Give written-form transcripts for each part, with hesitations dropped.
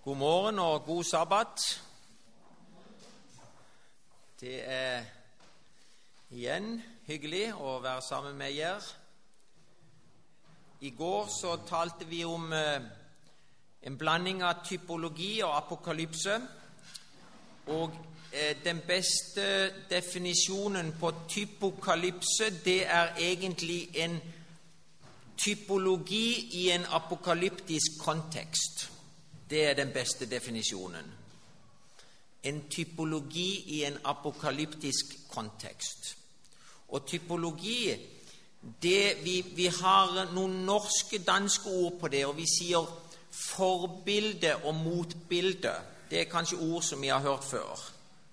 God morgen og god sabbat. Det igjen hyggelig å være sammen med dere. I går så talte vi om en blanding av typologi og apokalypse. Og den beste definisjonen på typokalypse, det egentlig en typologi i en apokalyptisk kontekst. Det den beste definisjonen. En typologi i en apokalyptisk kontekst. Og typologi, vi har noen norske, danske ord på det, og vi sier forbilde og motbilde. Det kanskje ord som vi har hørt før.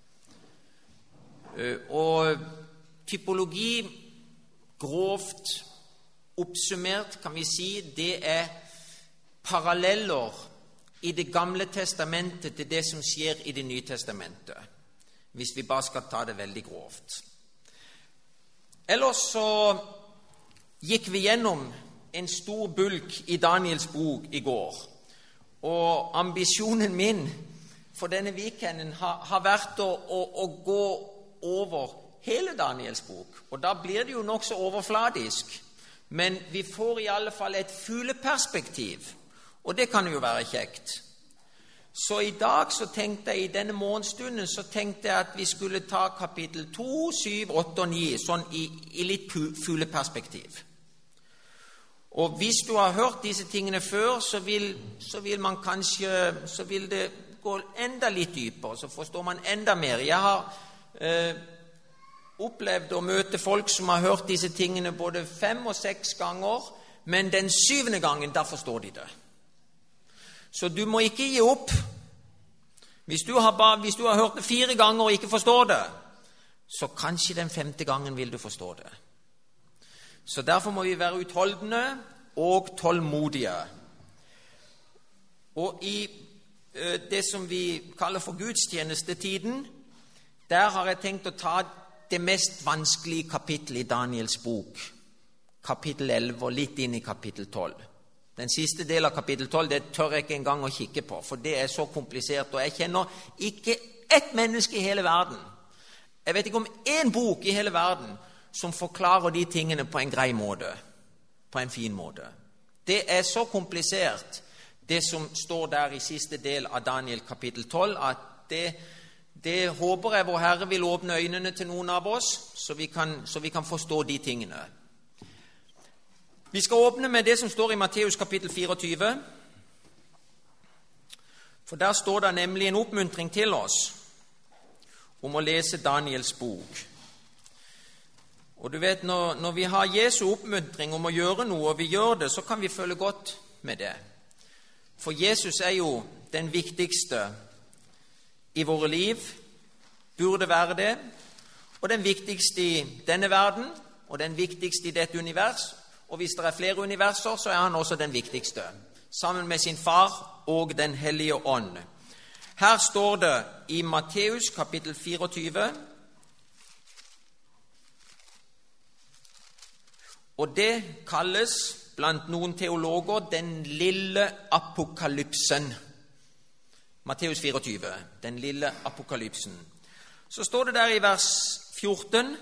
Og typologi, grovt oppsummert kan vi si, det paralleller i Det gamle testamentet til det som skjer i Det nye testamentet, hvis vi bare skal ta det veldig grovt. Ellers så gikk vi gjennom en stor bulk i Daniels bok i går, og ambisjonen min for denne weekenden har vært å gå over hele Daniels bok, og da blir det jo nok så overfladisk, men vi får i alle fall et fugleperspektiv. Og det kan jo være kjekt. Så i dag så tenkte jeg, i denne morgenstunden, så tenkte jeg at vi skulle ta kapittel 2, 7, 8 og 9, sånn i litt fugleperspektiv. Og hvis du har hørt disse tingene før, så vil det gå enda litt dypere, så forstår man enda mer. Jeg har opplevd å møte folk som har hørt disse tingene både 5 og 6 ganger, men den 7. gangen, da forstår de det. Så du må ikke gi opp. Hvis du har hørt det 4 ganger og ikke forstår det, så kanskje den 5. gangen vil du forstå det. Så derfor må vi være utholdende og tålmodige. Og i det som vi kaller for gudstjenestetiden, der har jeg tenkt å ta det mest vanskelige kapittelet i Daniels bok, kapittel 11 og litt inn i kapittel 12. Den siste del av kapittel 12, det tør jeg ikke engang å kikke på, for det så komplisert, og jeg kjenner ikke ett menneske i hele verden. Jeg vet ikke om en bok i hele verden som forklarer de tingene på en grei måte, på en fin måte. Det så komplisert, det som står der i siste del av Daniel kapittel 12, at det håper jeg vår Herre vil åpne øynene til noen av oss, så vi kan forstå de tingene. Vi skal åpne med det som står i Matteus kapittel 24, for der står det nemlig en oppmuntring til oss om å lese Daniels bok. Og du vet, når vi har Jesu oppmuntring om å gjøre noe, og vi gjør det, så kan vi føle godt med det. For Jesus jo den viktigste i våre liv, burde være det, og den viktigste i denne verden, og den viktigste i dette univers. Og hvis det flere universer, så han også den viktigste, sammen med sin far og den hellige ånd. Her står det i Matteus kapittel 24, og det kalles blant noen teologer den lille apokalypsen. Matteus 24, den lille apokalypsen. Så står det der i vers 14,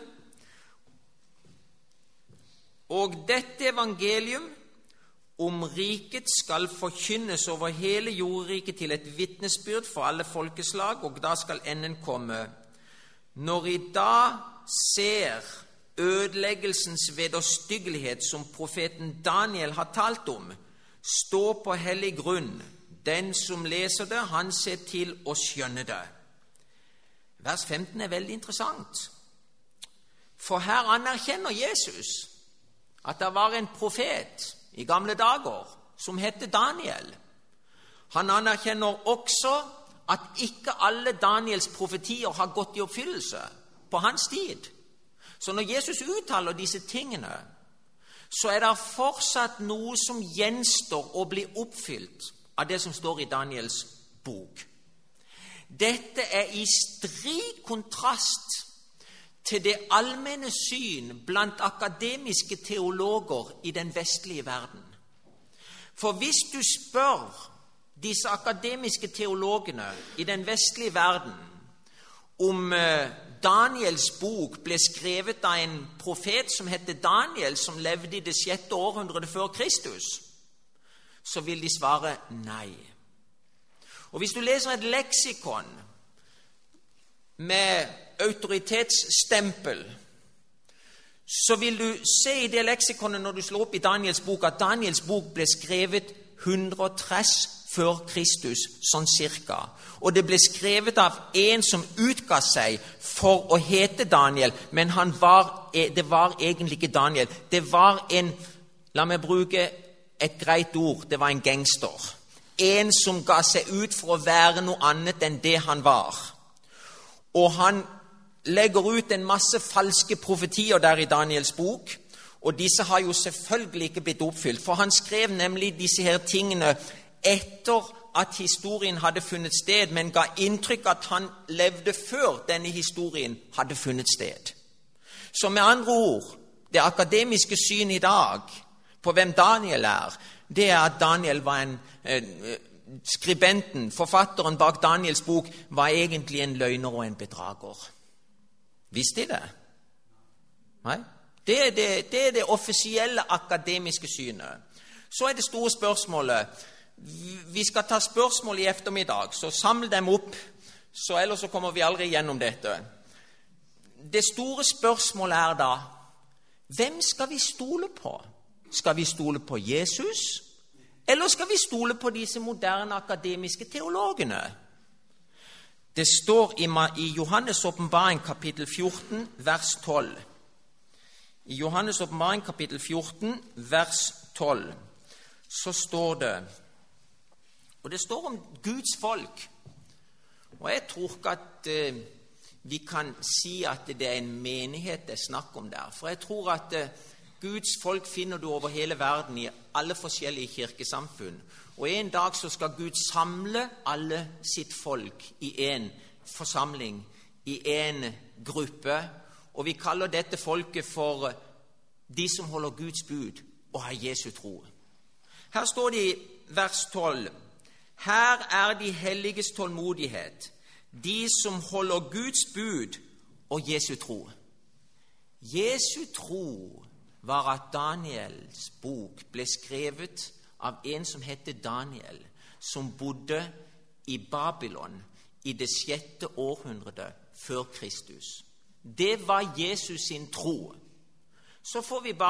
og dette evangelium om riket skal forkynnes over hele jordriket til et vitnesbyrd for alle folkeslag, og da skal enden komme. Når I da ser ødeleggelsens vederstyggelighet som profeten Daniel har talt om, stå på hellig grunn. Den som leser det, han ser til å skjønne det. Vers 15 veldig interessant, for her anerkjenner Jesus at det var en profet i gamle dager som hette Daniel. Han anerkjenner også at ikke alle Daniels profetier har gått i oppfyllelse på hans tid. Så når Jesus uttaler disse tingene, så det fortsatt noe som gjenstår å bli oppfylt av det som står i Daniels bok. Dette i strid kontrast til det allmenne syn blant akademiske teologer i den vestlige verden. For hvis du spør disse akademiske teologene i den vestlige verden om Daniels bok ble skrevet av en profet som heter Daniel, som levde i det 6. århundret før Kristus, så vil de svare nei. Og hvis du leser et leksikon med autoritetsstempel, så vil du se i det leksikonet når du slår opp i Daniels bok, at Daniels bok ble skrevet 130 før Kristus, sånn cirka. Og det ble skrevet av en som utga seg for å hete Daniel, men det var egentlig ikke Daniel. Det var en, la meg bruke et greit ord, det var en gangster. En som ga seg ut for å være noe annet enn det han var. Og han legger ut en masse falske profetier der i Daniels bok, og disse har jo selvfølgelig ikke blitt oppfylt, for han skrev nemlig disse her tingene etter at historien hadde funnet sted, men ga inntrykk at han levde før denne historien hadde funnet sted. Så med andre ord, det akademiske syn i dag på hvem Daniel er, det er at Daniel var skribenten, forfatteren bak Daniels bok, var egentlig en løgner og en bedrager. Visste de det? Nei? Det er det offisielle akademiske synet. Så er det store spørsmålet. Vi skal ta spørsmål i ettermiddag, så samle dem opp, så ellers så kommer vi aldri gjennom dette. Det store spørsmålet er da, hvem skal vi stole på? Skal vi stole på Jesus, eller skal vi stole på disse moderne akademiske teologene? Det står i Johannes åpenbaring kapittel 14, vers 12. I Johannes åpenbaring kapittel 14, vers 12, så står det, og det står om Guds folk, og jeg tror ikke at vi kan si at det er en menighet det er snakk om der, for jeg tror at Guds folk finner du over hele verden i alle forskjellige kirkesamfunn, og en dag så skal Gud samle alle sitt folk i en forsamling, i en gruppe, og vi kaller dette folket for de som holder Guds bud og har Jesu tro. Her står det i vers 12, her er de helliges tålmodighet, de som holder Guds bud og Jesu tro. Jesu tro var at Daniels bok ble skrevet av en som heter Daniel, som bodde i Babylon i det 6. århundret før Kristus. Det var Jesus sin tro. Så får vi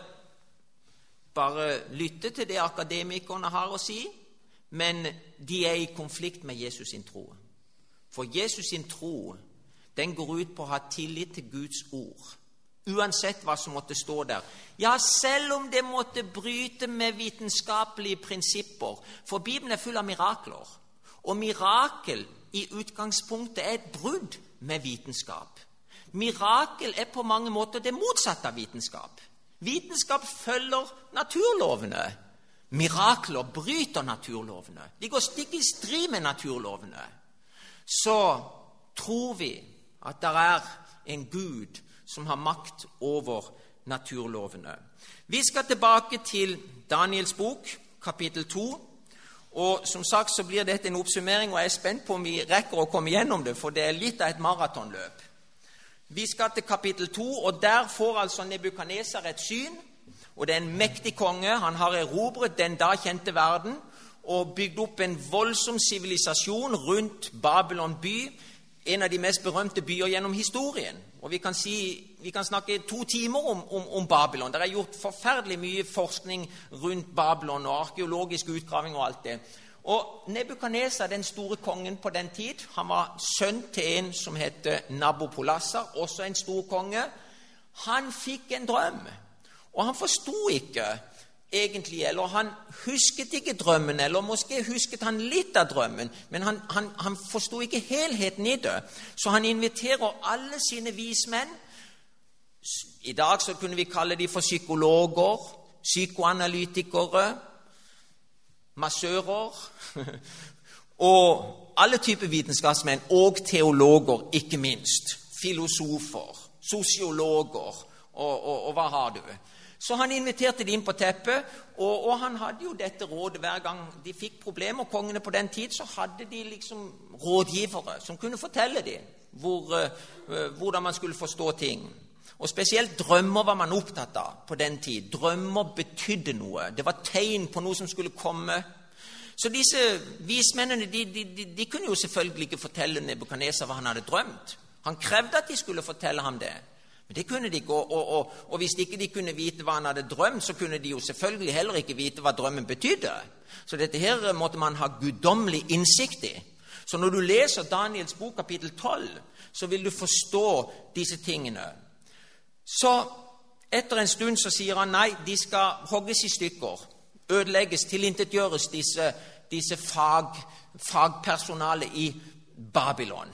bare lytte til det akademikerne har å si, men de er i konflikt med Jesus sin tro. For Jesus sin tro, den går ut på å ha tillit til Guds ord, uansett hva som måtte stå der. Ja, selv om det måtte bryte med vitenskapelige prinsipper, for Bibelen er full av mirakler, og mirakel i utgangspunktet er et brudd med vitenskap. Mirakel er på mange måter det motsatte av vitenskap. Vitenskap følger naturlovene. Mirakler bryter naturlovene. De går stikk i strid med naturlovene. Så tror vi at det er en Gud som har makt over naturlovene. Vi skal tilbake til Daniels bok, kapittel 2. Og som sagt så blir dette en oppsummering, og jeg er spent på om vi rekker å komme gjennom det, for det er litt av et maratonløp. Vi skal til kapittel 2, og der får altså Nebukadnesar et syn, og det er en mektig konge. Han har erobret den da kjente verden, og bygd opp en voldsom sivilisasjon rundt Babylon by, en av de mest berømte byer gjennom historien. Og vi kan snakke 2 timer om Babylon. Det er gjort forferdelig mye forskning rundt Babylon, og arkeologisk utgraving og alt det. Og Nebukadnesar, den store kongen på den tid, han var sønn til en som heter Nabopolassar, også en stor konge. Han fikk en drøm, og han forstod ikke egentlig, eller han husket ikke drømmen, eller måske husket han litt av drømmen, men han forstod ikke helheten i det. Så han inviterer alle sine vismenn. I dag så kunne vi kalle de for psykologer, psykoanalytikere, massører, og alle typer vitenskapsmenn, og teologer, ikke minst, filosofer, sosiologer, og hva har du? Så han inviterte de inn på teppet, og han hadde jo dette rådet hver gang de fikk problemer. Kongene på den tid, så hadde de liksom rådgivere som kunne fortelle dem hvordan man skulle forstå ting. Og spesielt drømmer var man opptatt av på den tid. Drømmer betydde noe. Det var tegn på noe som skulle komme. Så disse vismennene, de kunne jo selvfølgelig ikke fortelle Nebukadnesar hva han hadde drømt. Han krevde at de skulle fortelle ham det. Men det kunne de ikke, og hvis ikke de kunne vite hva han hadde drømt, så kunne de jo selvfølgelig heller ikke vite hva drømmen betydde. Så dette her måtte man ha guddommelig innsikt i. Så når du leser Daniels bok kapittel 12, så vil du forstå disse tingene. Så etter en stund så sier han nei, de skal hogges i stykker, ødelegges, tilintetgjøres disse fagpersonale i Babylon.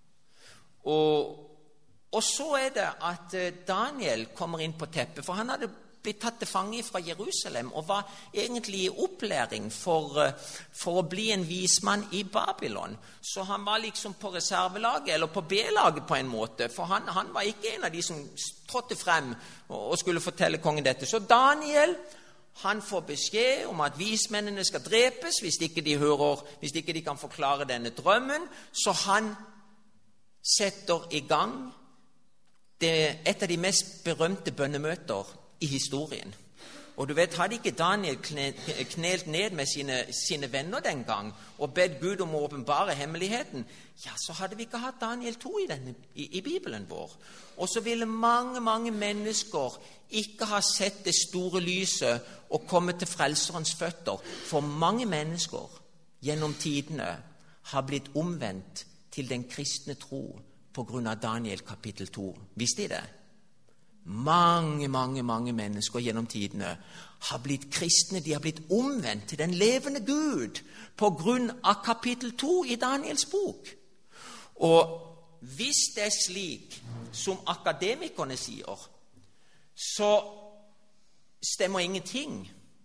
Og så er det at Daniel kommer inn på teppet, for han hadde blitt tatt til fange fra Jerusalem og var egentlig i opplæring for å bli en vismann i Babylon. Så han var liksom på reservelaget, eller på B-laget på en måte, for han var ikke en av de som trådte frem og skulle fortelle kongen dette. Så Daniel, han får beskjed om at vismennene skal drepes hvis ikke de kan forklare denne drømmen, så han setter i gang et av de mest berømte bønnemøter i historien. Og du vet, hadde ikke Daniel knelt ned med sine venner den gang og bedt Gud om å åpenbare hemmeligheten, ja, så hadde vi ikke hatt Daniel 2 i Bibelen vår. Og så ville mange, mange mennesker ikke ha sett det store lyset og komme til frelserens føtter. For mange mennesker gjennom tidene har blitt omvendt til den kristne tro på grunn av Daniel kapittel 2. Visste de det? Mange, mange, mange mennesker gjennom tidene har blitt kristne, de har blitt omvendt til den levende Gud på grunn av kapittel 2 i Daniels bok. Og hvis det er slik som akademikerne sier, så stemmer ingenting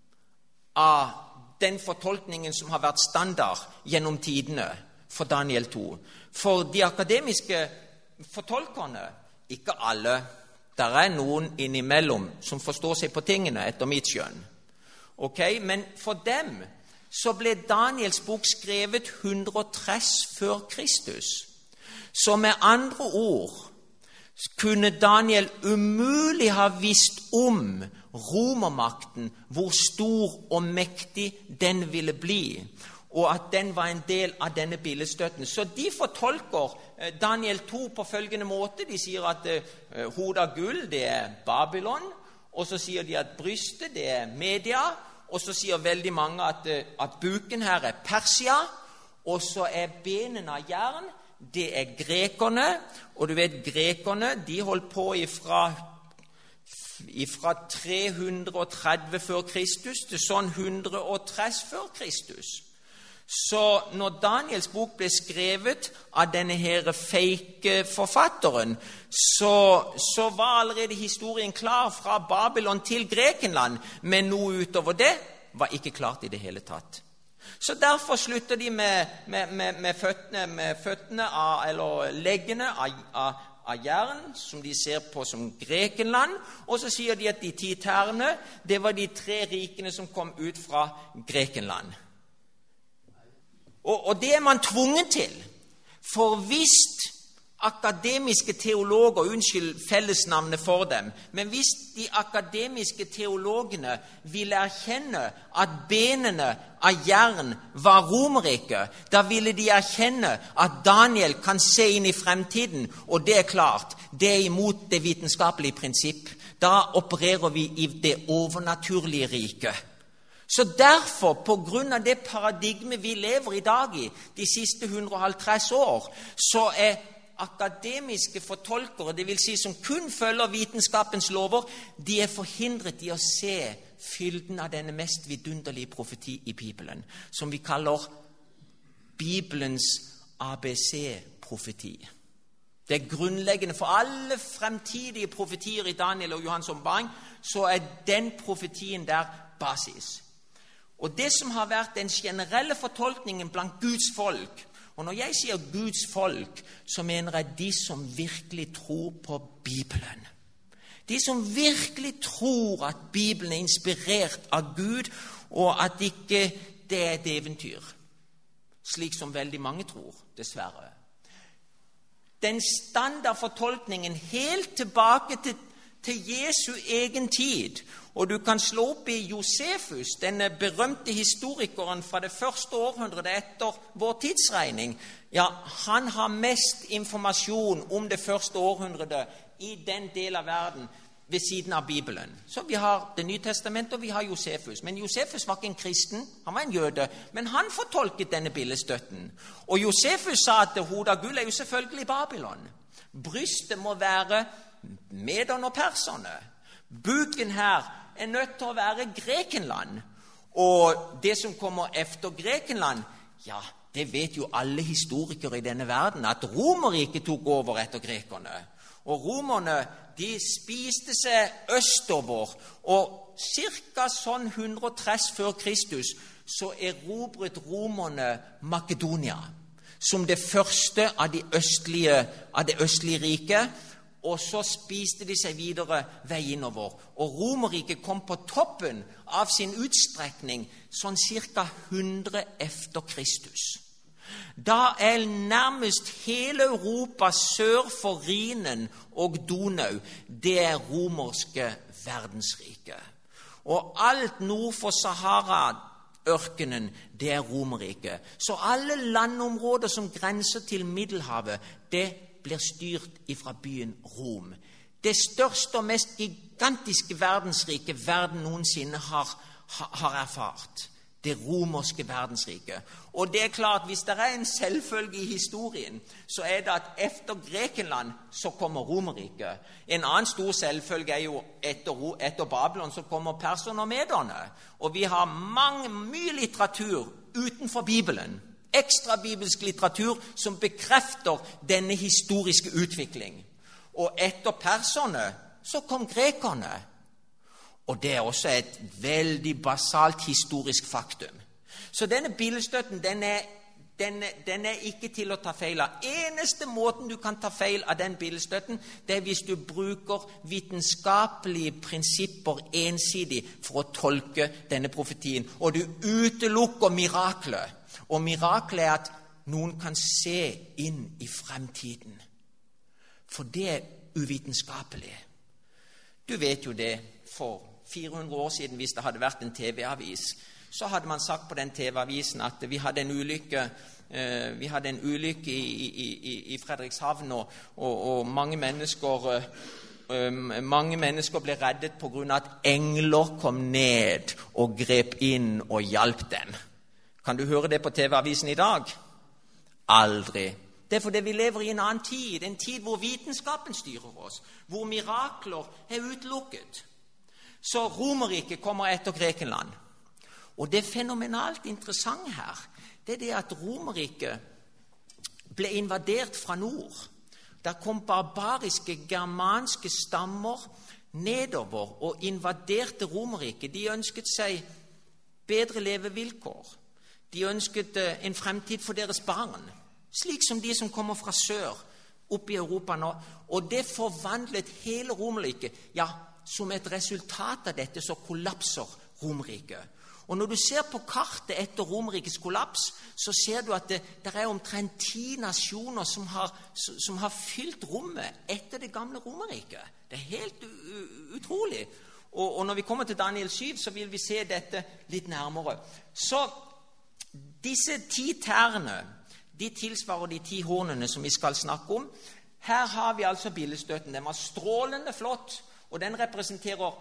av den fortolkningen som har vært standard gjennom tidene for Daniel 2. For de akademiske fortolkerne, ikke alle, der er noen innimellom som forstår seg på tingene etter mitt skjønn. Men for dem så ble Daniels bok skrevet 130 før Kristus. Så med andre ord kunne Daniel umulig ha visst om romermakten, hvor stor og mektig den ville bli, og at den var en del av denne billedstøtten. Så de fortolker Daniel 2 på følgende måte. De sier at hodet av gull, det er Babylon, og så sier de at brystet, det er Media, og så sier veldig mange at buken her er Persia, og så er benene av jern, det er grekerne, og du vet, grekerne, de holdt på ifra 330 før Kristus til sånn 130 før Kristus. Så når Daniels bok ble skrevet av denne her fake forfatteren, så var allerede historien klar fra Babylon til Grekenland, men noe utover det var ikke klart i det hele tatt. Så derfor slutter de med føttene eller leggene av jern, som de ser på som Grekenland, og så sier de at de 10 tærne, det var de 3 rikene som kom ut fra Grekenland. Og det er man tvunget til, for hvis akademiske teologer, unnskyld fellesnavnet for dem, men hvis de akademiske teologene ville erkjenne at benene av jern var Romerriket, da ville de erkjenne at Daniel kan se inn i fremtiden, og det er klart, det er imot det vitenskapelige prinsipp. Da opererer vi i det overnaturlige riket. Så derfor, på grunn av det paradigmet vi lever i dag i, de siste 150 år, så er akademiske fortolkere, det vil si som kun følger vitenskapens lover, de er forhindret i å se fylden av denne mest vidunderlige profeti i Bibelen, som vi kaller Bibelens ABC-profeti. Det er grunnleggende for alle fremtidige profetier i Daniel og Johans åpenbaring, så er den profetien der basis. Og det som har vært den generelle fortolkningen blant Guds folk, og når jeg sier Guds folk, så mener jeg de som virkelig tror på Bibelen. De som virkelig tror at Bibelen er inspirert av Gud, og at ikke det er et eventyr, slik som veldig mange tror, dessverre. Den standardfortolkningen helt tilbake til Jesu egen tid, og du kan slå opp i Josefus, denne berømte historikeren fra det første århundret etter vår tidsregning. Ja, han har mest informasjon om det første århundret i den del av verden ved siden av Bibelen. Så vi har Det nye testamentet, og vi har Josefus. Men Josefus var ikke en kristen, han var en jøde, men han fortolket denne billedstøtten. Og Josefus sa at hodet av gull er jo selvfølgelig Babylon. Brystet må være mederne og perserne. Buken her er nødt til å være Grekenland. Og det som kommer efter Grekenland, ja, det vet jo alle historikere i denne verden, at Romerriket tok over etter grekerne. Og romerne, de spiste seg østover, og cirka sånn 130 før Kristus, så erobret romerne Makedonia, som det første av det østlige riket, og så spiste de seg videre vei innover. Og Romerriket kom på toppen av sin utstrekning sånn cirka 100 efter Kristus. Da er nærmest hele Europa sør for Rhinen og Donau, det er romerske verdensrike. Og alt nord for Sahara-ørkenen, det er Romerriket. Så alle landområder som grenser til Middelhavet, det blir styrt ifra byen Rom. Det største og mest gigantiske verdensriket verden noensinne har erfart. Det romerske verdensriket. Og det er klart, hvis det er en selvfølge i historien, så er det at efter Grekenland så kommer Romerriket. En annen stor selvfølge er jo etter Babylon så kommer perserne og mederne. Og vi har mye litteratur utenfor Bibelen, ekstra bibelsk litteratur som bekrefter denne historiske utvikling. Og etter perserne så kom grekerne. Og det er også et veldig basalt historisk faktum. Så denne billedstøtten, den er ikke til å ta feil av. Eneste måten du kan ta feil av den billedstøtten, det er hvis du bruker vitenskapelige prinsipper ensidig for å tolke denne profetien, og du utelukker miraklet. Og miraklet er at noen kan se inn i fremtiden. For det er uvitenskapelig. Du vet jo det, for 400 år siden, hvis det hadde vært en TV-avis, så hadde man sagt på den TV-avisen at vi hadde en ulykke i Fredrikshavn, og mange mennesker ble reddet på grunn av at engler kom ned og grep inn og hjalp dem. Kan du høre det på TV-avisen i dag? Aldri. Det er fordi vi lever i en annen tid, en tid hvor vitenskapen styrer oss, hvor mirakler er utelukket. Så Romerriket kommer etter Grekenland. Og det fenomenalt interessante her, det er det at Romerriket ble invadert fra nord. Der kom barbariske germanske stammer nedover og invaderte Romerriket. De ønsket seg bedre levevilkår. De ønsket en fremtid for deres barn, slik som de som kommer fra sør, opp i Europa nå. Og det forvandlet hele Romerriket. Ja, som et resultat av dette så kollapser Romerriket. Og når du ser på kartet etter Romerrikets kollaps, så ser du at det er omtrent 10 nasjoner som har fylt rommet etter det gamle Romerriket. Det er helt utrolig. Og når vi kommer til Daniel 7, så vil vi se dette litt nærmere. Så disse 10 tærne, de tilsvarer de 10 hornene som vi skal snakke om. Her har vi altså billedstøtten. Den var strålende flott, og den representerer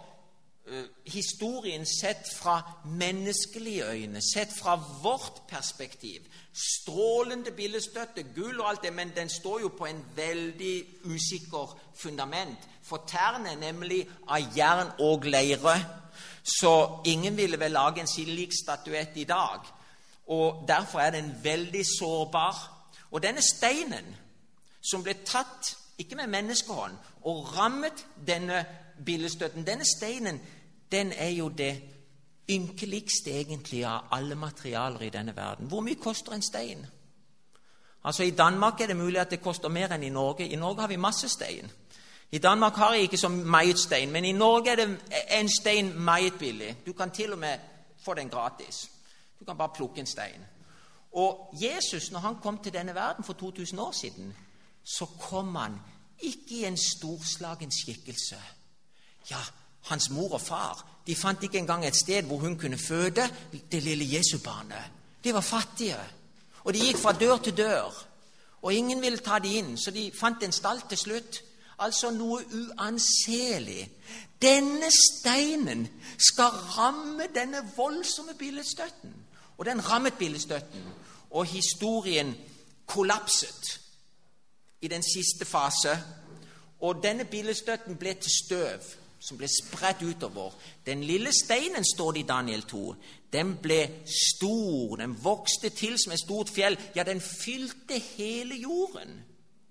historien sett fra menneskelige øyne, sett fra vårt perspektiv. Strålende billedstøtte, gull og alt det, men den står jo på en veldig usikker fundament. For tærne er nemlig av jern og leire, så ingen ville vel lage en slik statuett i dag. Og derfor er den veldig sårbar. Og denne steinen, som ble tatt, ikke med menneskehånd, og rammet denne billedstøtten, denne steinen, den er jo det ynkeligste egentlig av alle materialer i denne verden. Hvor mye koster en stein? Altså i Danmark er det mulig at det koster mer enn i Norge. I Norge har vi masse stein. I Danmark har jeg ikke så meget stein, men i Norge er det en stein meget billig. Du kan til og med få den gratis. Du kan bare plukke en stein. Og Jesus, når han kom til denne verden for 2000 år siden, så kom han ikke i en storslagen skikkelse. Ja, hans mor og far, de fant ikke engang et sted hvor hun kunne føde det lille Jesu-barnet. De var fattige, og de gikk fra dør til dør, og ingen ville ta de inn, så de fant en stall til slutt. Altså noe uanselig. Denne steinen skal ramme denne voldsomme billedstøtten. Og den rammet billedstøtten, og historien kollapset i den siste fase. Og denne billedstøtten ble til støv, som ble spredt utover. Den lille steinen, står det i Daniel 2, den ble stor, den vokste til som et stort fjell. Ja, den fylte hele jorden.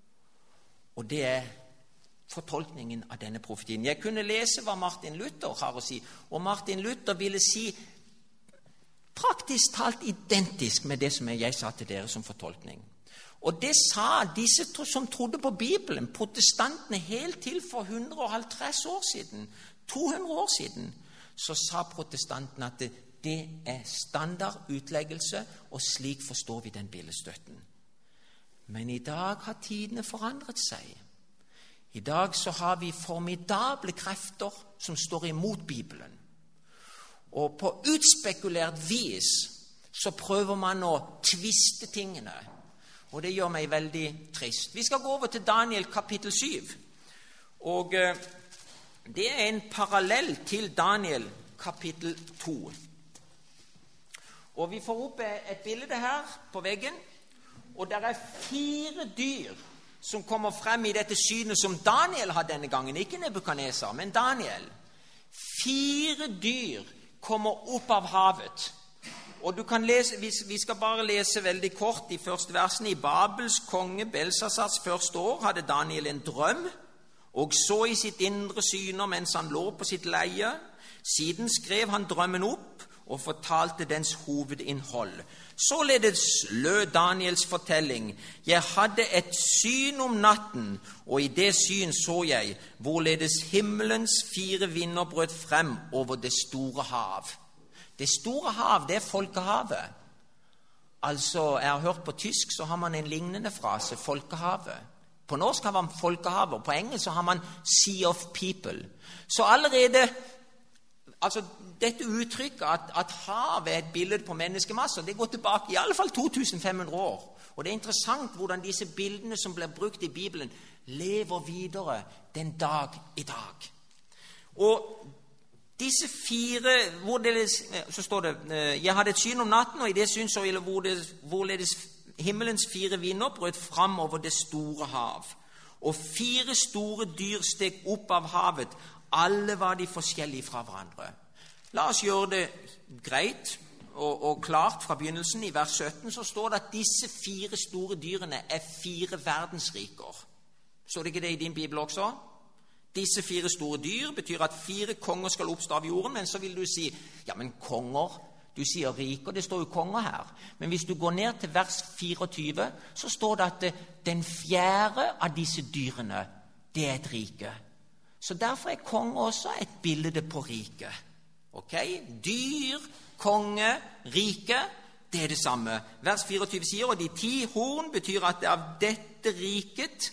Og det er fortolkningen av denne profetien. Jeg kunne lese hva Martin Luther har å si, og Martin Luther ville si praktisk talt identisk med det som jeg sa til dere som fortolkning. Og det sa disse som trodde på Bibelen, protestantene, helt til for 150 år siden, 200 år siden, så sa protestantene at det er standardutleggelse, og slik forstår vi den billedstøtten. Men i dag har tidene forandret seg. I dag så har vi formidable krefter som står imot Bibelen. Og på utspekulert vis så prøver man å tviste tingene. Og det gjør meg veldig trist. Vi skal gå over til Daniel kapittel 7. Og det er en parallell til Daniel kapittel 2. Og vi får opp et bilde her på veggen. Og det er 4 dyr som kommer frem i dette synet som Daniel har denne gangen. Ikke Nebukadnesar, men Daniel. 4 dyr kommer opp av havet. Og du kan lese, vi skal bare lese veldig kort de første versene. I Babels konge Belsasars første år hadde Daniel en drøm, og så i sitt indre syner mens han lå på sitt leie. Siden skrev han drømmen opp og fortalte dens hovedinnhold. Således lød Daniels fortelling: Jeg hadde et syn om natten, og i det syn så jeg hvorledes himmelens 4 vinder brøt frem over det store hav. Det store hav, det er folkehavet. Altså, jeg har hørt på tysk, så har man en lignende frase, folkehavet. På norsk har man folkehavet, og på engelsk så har man sea of people. Så allerede, altså dette uttrykket at havet er et bilde på menneskemasser, det går tilbake i alle fall 2500 år. Og det er interessant hvordan disse bildene som blir brukt i Bibelen, lever videre den dag i dag. Og disse 4, så står det, jeg hadde et syn om natten, og i det syn så jeg hvorledes himmelens 4 vinder brøt frem over det store hav. Og 4 store dyr steg opp av havet, alle var de forskjellige fra hverandre. La oss gjøre det greit og klart fra begynnelsen. I vers 17 så står det at disse 4 store dyrene er 4 verdensriker. Så det ikke det i din bibel også? Disse 4 store dyr betyr at 4 konger skal oppstå av jorden, men så vil du si, ja, men konger, du sier riker, det står jo konger her. Men hvis du går ned til vers 24, så står det at den 4. av disse dyrene, det er et rike. Så derfor er konge også et bilde på rike. Ok? Dyr, konge, rike, det er det samme. Vers 24 sier, og de 10 horn betyr at det av dette riket,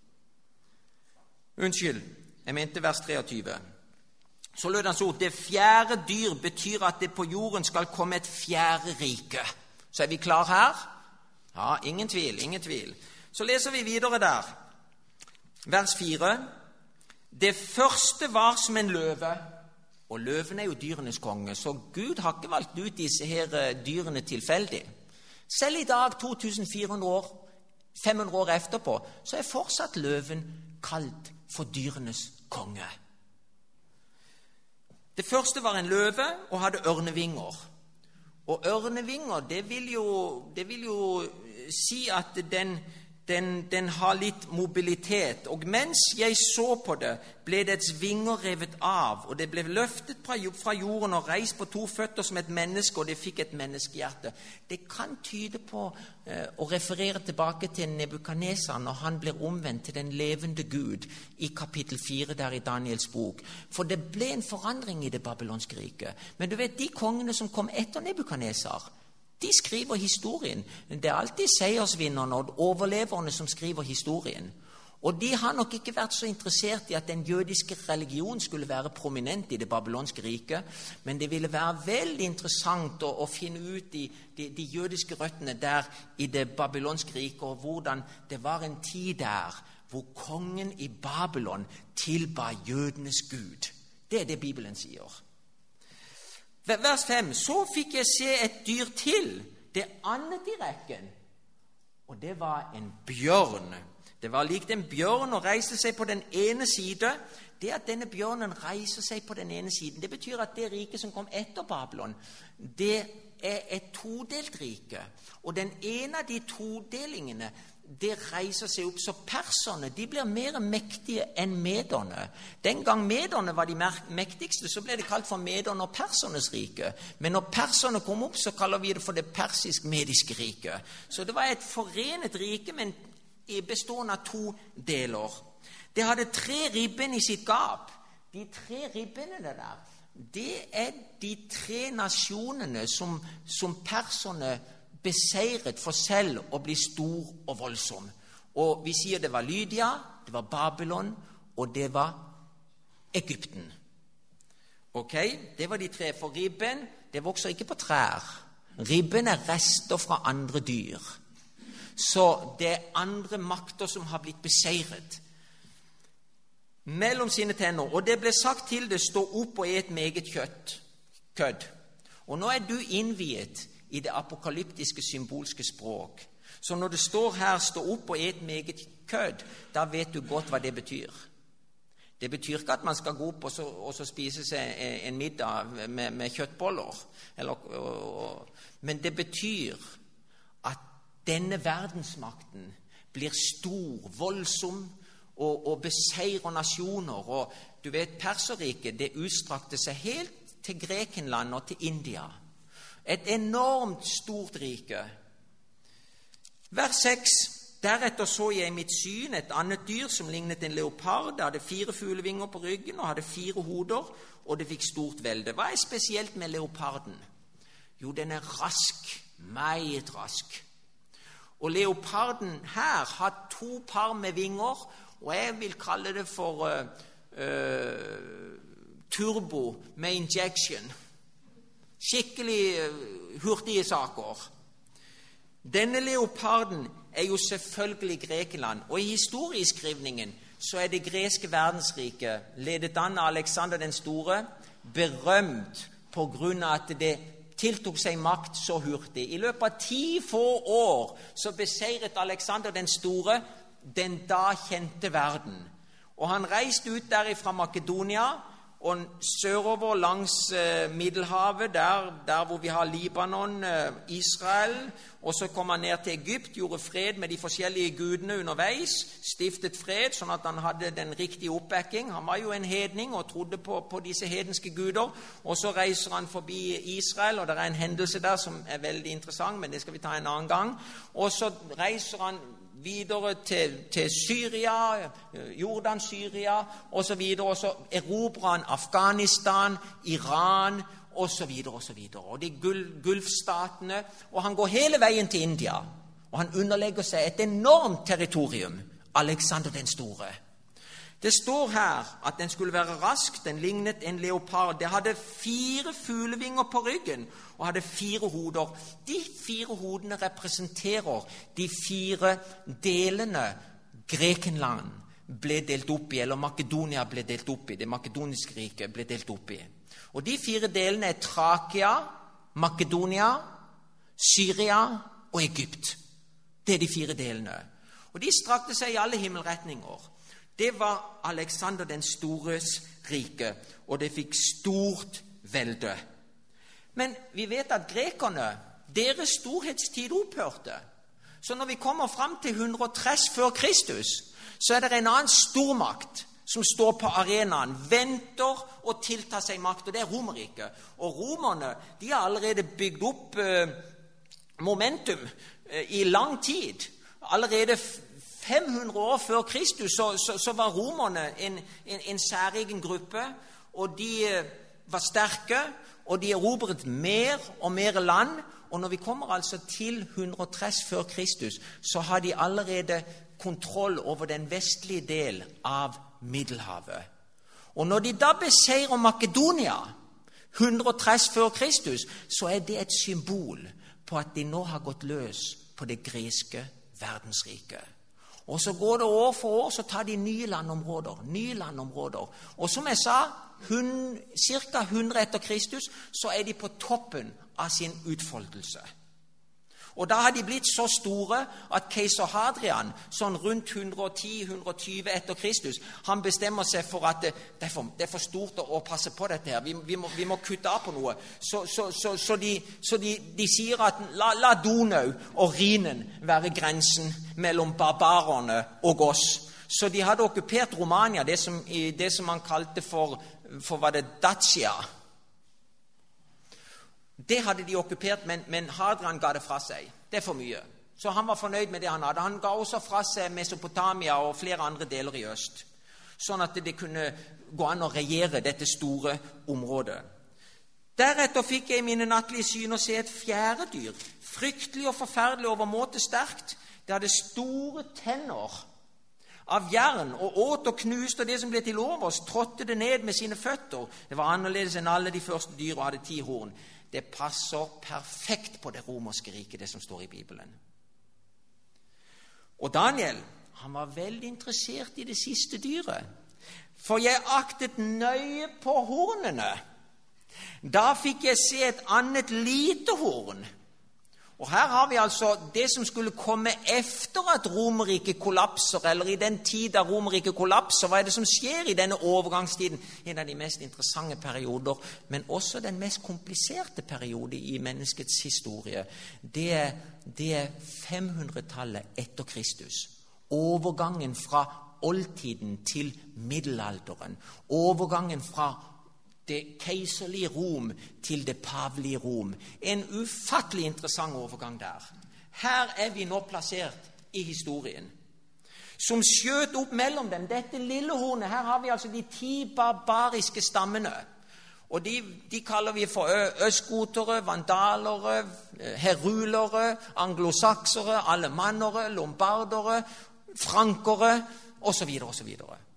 jeg mente vers 23. Så lød hans ord, det 4. dyr betyr at det på jorden skal komme et 4. rike. Så er vi klar her? Ja, ingen tvil, ingen tvil. Så leser vi videre der. Vers 4. Det første var som en løve, og løven er jo dyrenes konge, så Gud har ikke valgt ut disse her dyrene tilfeldig. Selv i dag, 2400 år, 500 år etterpå, så er fortsatt løven kalt for dyrenes konge. Det første var en løve og hadde ørnevinger. Og ørnevinger, det vil jo si at den har litt mobilitet. Og mens jeg så på det, ble dets vinger revet av, og det ble løftet fra jorden og reist på 2 føtter som et menneske, og det fikk et menneskehjerte. Det kan tyde på å referere tilbake til Nebukadnesar når han blir omvendt til den levende Gud i kapittel 4 der i Daniels bok. For det ble en forandring i det babylonske riket. Men du vet, de kongene som kom etter Nebukadnesar, de skriver historien. Det er alltid seiersvinnerne og overleverne som skriver historien. Og de har nok ikke vært så interessert i at den jødiske religion skulle være prominent i det babylonske riket, men det ville være veldig interessant å finne ut de jødiske røttene der i det babylonske riket, og hvordan det var en tid der hvor kongen i Babylon tilba jødenes Gud. Det er det Bibelen sier. Vers 5. Så fikk jeg se et dyr til, det annet i rekken, og det var en bjørn. Det var likt en bjørn og reiste seg på den ene side. Det at denne bjørnen reiser seg på den ene siden, det betyr at det riket som kom etter Babylon, det er et todelt rike. Og den ene av de todelingene, det reiser seg opp. Så perserne, de blir mer mektige enn mederne. Den gang mederne var de mektigste, så ble det kalt for mederne og persernes rike. Men når perserne kom opp, så kaller vi det for det persisk-mediske riket. Så det var et forenet rike, men bestående av 2 deler. Det hadde 3 ribben i sitt gap. De 3 ribbene der, det er de 3 nasjonene som perserne beseiret for selv å bli stor og voldsom. Og vi sier det var Lydia, det var Babylon, og det var Egypten. Ok, det var de 3, for ribben, det vokser ikke på trær. Ribben er rester fra andre dyr. Så det er andre makter som har blitt beseiret mellom sine tenner. Og det ble sagt til det, stå opp og et meget kødd. Og nå er du innviet i det apokalyptiske symbolske språk. Så når det står her, stå opp og et meget kødd, da vet du godt hva det betyr. Det betyr ikke at man skal gå opp og så spise seg en middag med kjøttboller. Men det betyr at denne verdensmakten blir stor, voldsom og beseirer nasjoner. Og du vet, Perserriket, det utstrakte seg helt til Grekenland og til India. Et enormt stort rike. Vers 6. Deretter så jeg i mitt syn et annet dyr som lignet en leopard. Det hadde 4 fuglevinger på ryggen og hadde 4 hoder, og det fikk stort velde. Hva er spesielt med leoparden? Jo, den er rask, meget rask. Og leoparden her har 2 par med vinger, og jeg vil kalle det for turbo med injection. Skikkelig hurtige saker. Denne leoparden er jo selvfølgelig Grekenland, og i historieskrivningen så er det greske verdensriket, ledet an av Alexander den store, berømt på grunn av at det tiltok seg makt så hurtig. I løpet av 10 få år så beseiret Alexander den store den da kjente verden. Og han reiste ut der fra Makedonia og sørover langs Middelhavet, der hvor vi har Libanon, Israel, og så kom han ned til Egypt, gjorde fred med de forskjellige gudene underveis, stiftet fred, sånn at han hadde den riktige oppbacking. Han var jo en hedning og trodde på disse hedenske guder, og så reiser han forbi Israel, og det er en hendelse der som er veldig interessant, men det skal vi ta en annen gang. Og så reiser han videre til Syria, Jordan, Syria, og så videre, og så erobrer han Afghanistan, Iran, og så videre, og så videre. Og de gulfstatene, og han går hele veien til India, og han underlegger seg et enormt territorium, Alexander den store. Det står her at den skulle være rask, den lignet en leopard. Det hadde 4 fuglevinger på ryggen og hadde 4 hoder. De 4 hodene representerer de 4 delene Grekenland ble delt opp i, eller Makedonia ble delt opp i, det makedoniske riket ble delt opp i. Og de 4 delene er Trakia, Makedonia, Syria og Egypt. Det er de 4 delene. Og de strakte seg i alle himmelretninger. Det var Alexander den stores rike, og det fikk stort velde. Men vi vet at grekerne, deres storhetstid opphørte. Så når vi kommer frem til 130 før Kristus, så er det en annen stormakt som står på arenaen, venter og tiltar seg makt, og det er Romerriket. Og romerne, de har allerede bygd opp momentum i lang tid. Allerede 500 år før Kristus så var romerne en særegen gruppe, og de var sterke, og de erobret mer og mer land. Og når vi kommer altså til 130 før Kristus, så har de allerede kontroll over den vestlige del av Middelhavet. Og når de da beseirer Makedonia 130 før Kristus, så er det et symbol på at de nå har gått løs på det greske verdensriket. Og så går det år for år, så tar de nye landområder. Og som jeg sa, ca. 100 etter Kristus, så er de på toppen av sin utfoldelse. Og da har de blitt så store at keiser Hadrian, sånn rundt 110-120 etter Kristus, han bestemmer seg for at det er for stort å passe på dette her. Vi må kutte av på noe. Så de sier at la Donau og Rhinen være grensen mellom barbarerne og oss. Så de hadde okkupert Romania, det som man kalte for var det Dacia. Det hadde de okkupert, men Hadrian ga det fra seg. Det er for mye. Så han var fornøyd med det han hadde. Han ga også fra seg Mesopotamia og flere andre deler i øst, sånn at det kunne gå an å regjere dette store området. Deretter fikk jeg i mine nattlige syn å se et fjerde dyr, fryktelig og forferdelig overmåte sterkt. Det hadde store tenner av jern, og åt og knuste, og det som ble til overs, trådte det ned med sine føtter. Det var annerledes enn alle de første dyr og hadde 10 horn. Det passer perfekt på det romerske riket, det som står i Bibelen. Og Daniel, han var veldig interessert i det siste dyret. For jeg aktet nøye på hornene. Da fikk jeg se et annet lite horn. Og her har vi altså det som skulle komme efter at Romerriket kollapser, eller i den tid da Romerriket kollapser. Hva er det som skjer i denne overgangstiden? En av de mest interessante perioder, men også den mest kompliserte periode i menneskets historie. Det er 500-tallet etter Kristus. Overgangen fra oldtiden til middelalderen. Overgangen fra det keiserlige Rom til det pavelige Rom. En ufattelig interessant overgang der. Her er vi nå plassert i historien. Som skjøt opp mellom dem, dette lille hornet, her har vi altså de 10 barbariske stammene. Og de kaller vi for østgotere, vandalere, herulere, anglosaksere, alemannere, lombardere, frankere, osv. osv.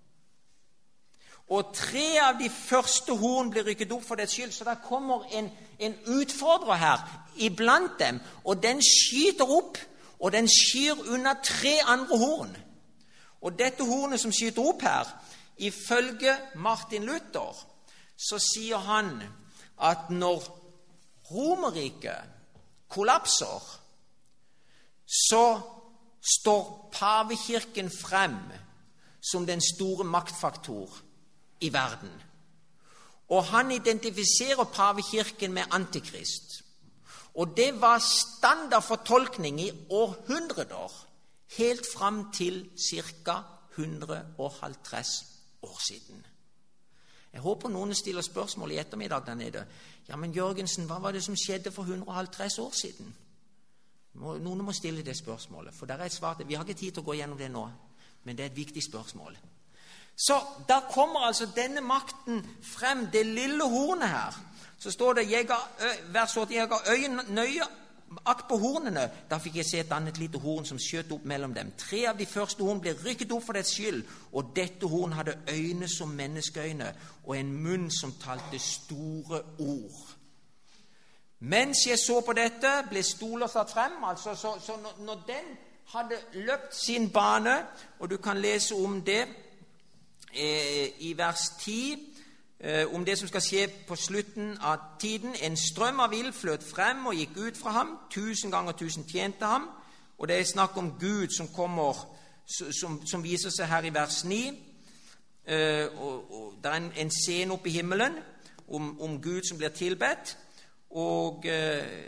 Og 3 av de første horn blir rykket opp for dets skyld, så der kommer en utfordrer her iblant dem, og den skyter opp, og den skyr unna 3 andre horn. Og dette hornet som skyter opp her, ifølge Martin Luther, så sier han at når Romerriket kollapser, så står pavekirken frem som den store maktfaktor i verden. Og han identifiserer pavekirken med antikrist. Og det var standardfortolkning i århundrer, helt frem til ca. 150 år siden. Jeg håper noen stiller spørsmål i ettermiddag der nede. Ja, men Jørgensen, hva var det som skjedde for 150 år siden? Noen må stille det spørsmålet, for der er et svar til. Vi har ikke tid til å gå gjennom det nå, men det er et viktig spørsmål. Så da kommer altså denne makten frem, det lille hornet her. Så står det, vers 8, jeg ga nøye akt på hornene. Da fikk jeg se et annet lite horn som skjøt opp mellom dem. 3 av de første horn ble rykket opp for dets skyld, og dette horn hadde øyne som menneskeøyne, og en munn som talte store ord. Mens jeg så på dette, ble stoler satt frem, altså, så når den hadde løpt sin bane, og du kan lese om det, i vers 10, om det som skal skje på slutten av tiden. En strøm av ild fløt frem og gikk ut fra ham. 1000 ganger 1000 tjente ham. Og det er snakk om Gud som kommer, som viser seg her i vers 9. Og det er en scene oppe i himmelen om Gud som blir tilbedt. Og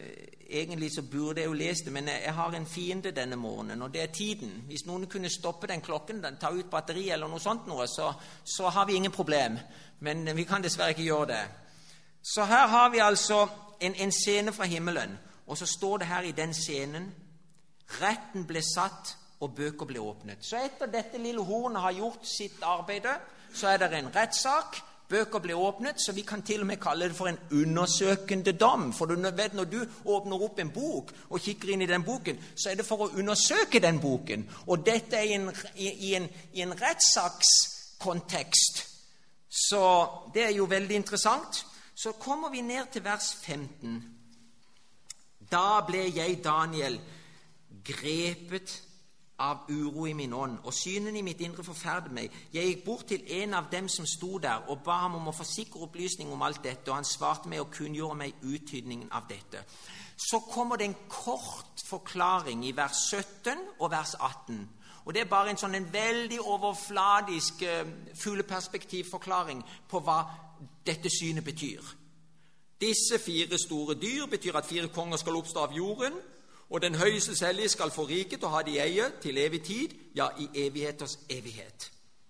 egentlig så burde jeg jo lese det, men jeg har en fiende denne morgenen, og det er tiden. Hvis noen kunne stoppe den klokken, ta ut batteri eller noe sånt, så har vi ingen problem. Men vi kan dessverre ikke gjøre det. Så her har vi altså en scene fra himmelen, og så står det her i den scenen: retten ble satt, og bøker ble åpnet. Så etter dette lille hornet har gjort sitt arbeid, så er det en rettssak. Bøker ble åpnet, så vi kan til og med kalle det for en undersøkende dom. For du vet, når du åpner opp en bok og kikker inn i den boken, så er det for å undersøke den boken. Og dette er i en rettssakskontekst. Så det er jo veldig interessant. Så kommer vi ned til vers 15. Da ble jeg, Daniel, grepet av uro i min ånd, og synen i mitt indre forferdet meg. Jeg gikk bort til en av dem som sto der, og ba ham om å få sikker opplysning om alt dette, og han svarte meg og kunngjorde meg uttydningen av dette. Så kommer det en kort forklaring i vers 17 og vers 18. Og det er bare en veldig overfladisk fugleperspektivforklaring på hva dette synet betyr. Disse 4 store dyr betyr at 4 konger skal oppstå av jorden, og den høyeste hellige skal få riket og ha det i eie til evig tid, ja, i evigheters evighet.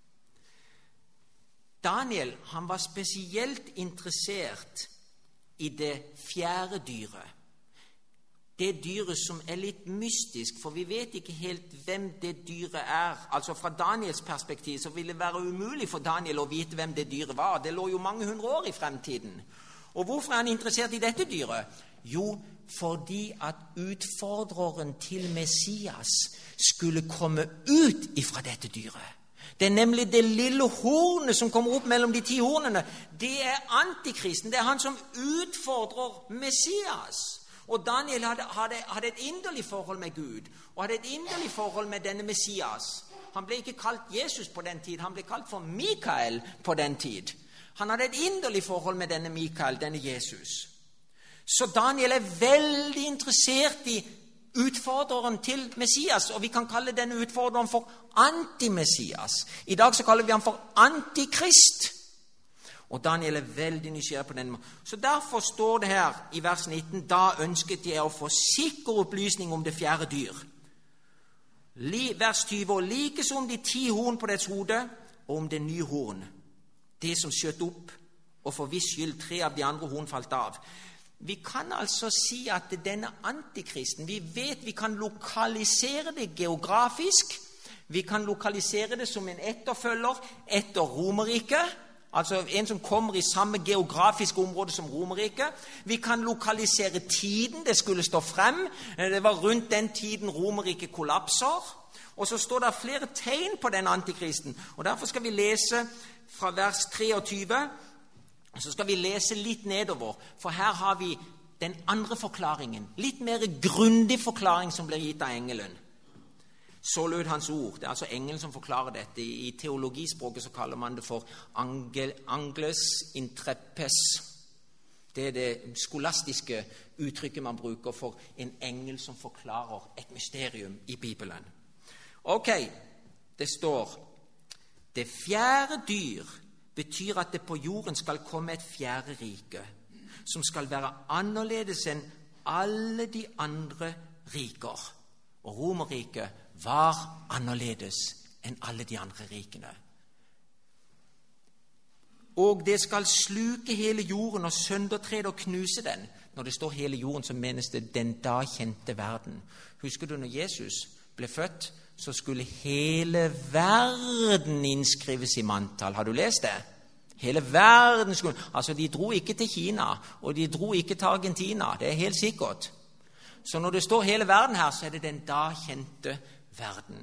Daniel, han var spesielt interessert i det 4. dyret. Det dyret som er litt mystisk, for vi vet ikke helt hvem det dyret er. Altså fra Daniels perspektiv så ville det være umulig for Daniel å vite hvem det dyret var. Det lå jo mange hundre år i fremtiden. Og hvorfor er han interessert i dette dyret? Jo, fordi at utfordreren til Messias skulle komme ut ifra dette dyret. Det er nemlig det lille hornet som kommer opp mellom de 10 hornene. Det er antikristen. Det er han som utfordrer Messias. Og Daniel hadde et inderlig forhold med Gud, og hadde et inderlig forhold med denne Messias. Han ble ikke kalt Jesus på den tid, han ble kalt for Mikael på den tid. Han hadde et inderlig forhold med denne Mikael, denne Jesus. Så Daniel er veldig interessert i utfordreren til Messias, og vi kan kalle denne utfordreren for anti-Messias. I dag så kaller vi ham for antikrist. Og Daniel er veldig nysgjerrig på den måten. Så derfor står det her i vers 19: da ønsket jeg å få sikker opplysning om det 4. dyr. Vers 20: og likeså om de 10 horn på dets hode, og om det nye horn, det som skjøt opp, og for viss skyld 3 av de andre horn falt av. Vi kan altså si at denne antikristen, vi kan lokalisere det geografisk, vi kan lokalisere det som en etterfølger etter Romerriket, altså en som kommer i samme geografiske område som Romerriket. Vi kan lokalisere tiden det skulle stå frem. Det var rundt den tiden Romerriket kollapser. Og så står det flere tegn på den antikristen. Og derfor skal vi lese fra vers 23, og så skal vi lese litt nedover, for her har vi den andre forklaringen. Litt mer grundig forklaring som blir gitt av engelen. Så lød hans ord. Det er altså engelen som forklarer dette. I teologispråket så kaller man det for angles intrepes. Det er det skolastiske uttrykket man bruker for en engel som forklarer et mysterium i Bibelen. Ok, det står: det 4. dyr betyr at det på jorden skal komme et 4. rike, som skal være annerledes enn alle de andre riker. Og Romerriket var annerledes enn alle de andre rikene. Og det skal sluke hele jorden og søndertrede og knuse den. Når det står hele jorden, så menes det den da kjente verden. Husker du når Jesus ble født, så skulle hele verden innskrives i manntall. Har du lest det? Hele verden skulle... Altså, de dro ikke til Kina, og de dro ikke til Argentina. Det er helt sikkert. Så når det står hele verden her, så er det den da kjente verden.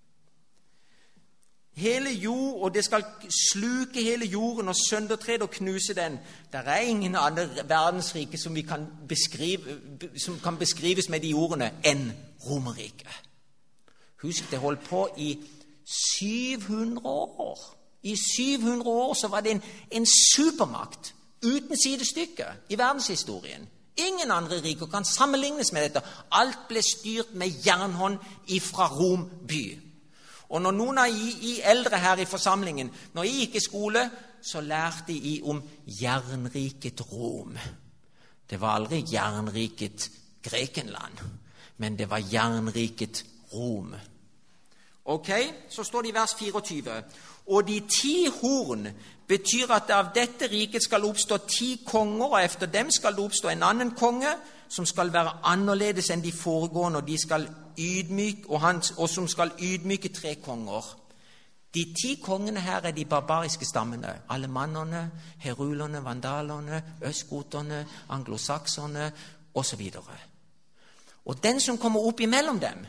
Hele jord, og det skal sluke hele jorden og søndertrede og knuse den. Det er ingen andre verdensrike som kan beskrives med de ordene enn Romerriket. Husk, det holdt på i 700 år. I 700 år så var det en supermakt uten sidestykke i verdenshistorien. Ingen andre riker kan sammenlignes med dette. Alt ble styrt med jernhånd ifra Rom by. Og når noen av I eldre her i forsamlingen, når I gikk i skole, så lærte I om jernriket Rom. Det var aldri jernriket Grekenland, men det var jernriket Rom. Ok, så står det i vers 24. Og de 10 horn betyr at av dette riket skal oppstå 10 konger, og efter dem skal det oppstå en annen konge, som skal være annerledes enn de foregående, og, de skal og som skal ydmyke 3 konger. De 10 kongene her er de barbariske stammene. Alemannerne, herulerne, vandalerne, østgoterne, anglosakserne osv. Og den som kommer opp imellom dem,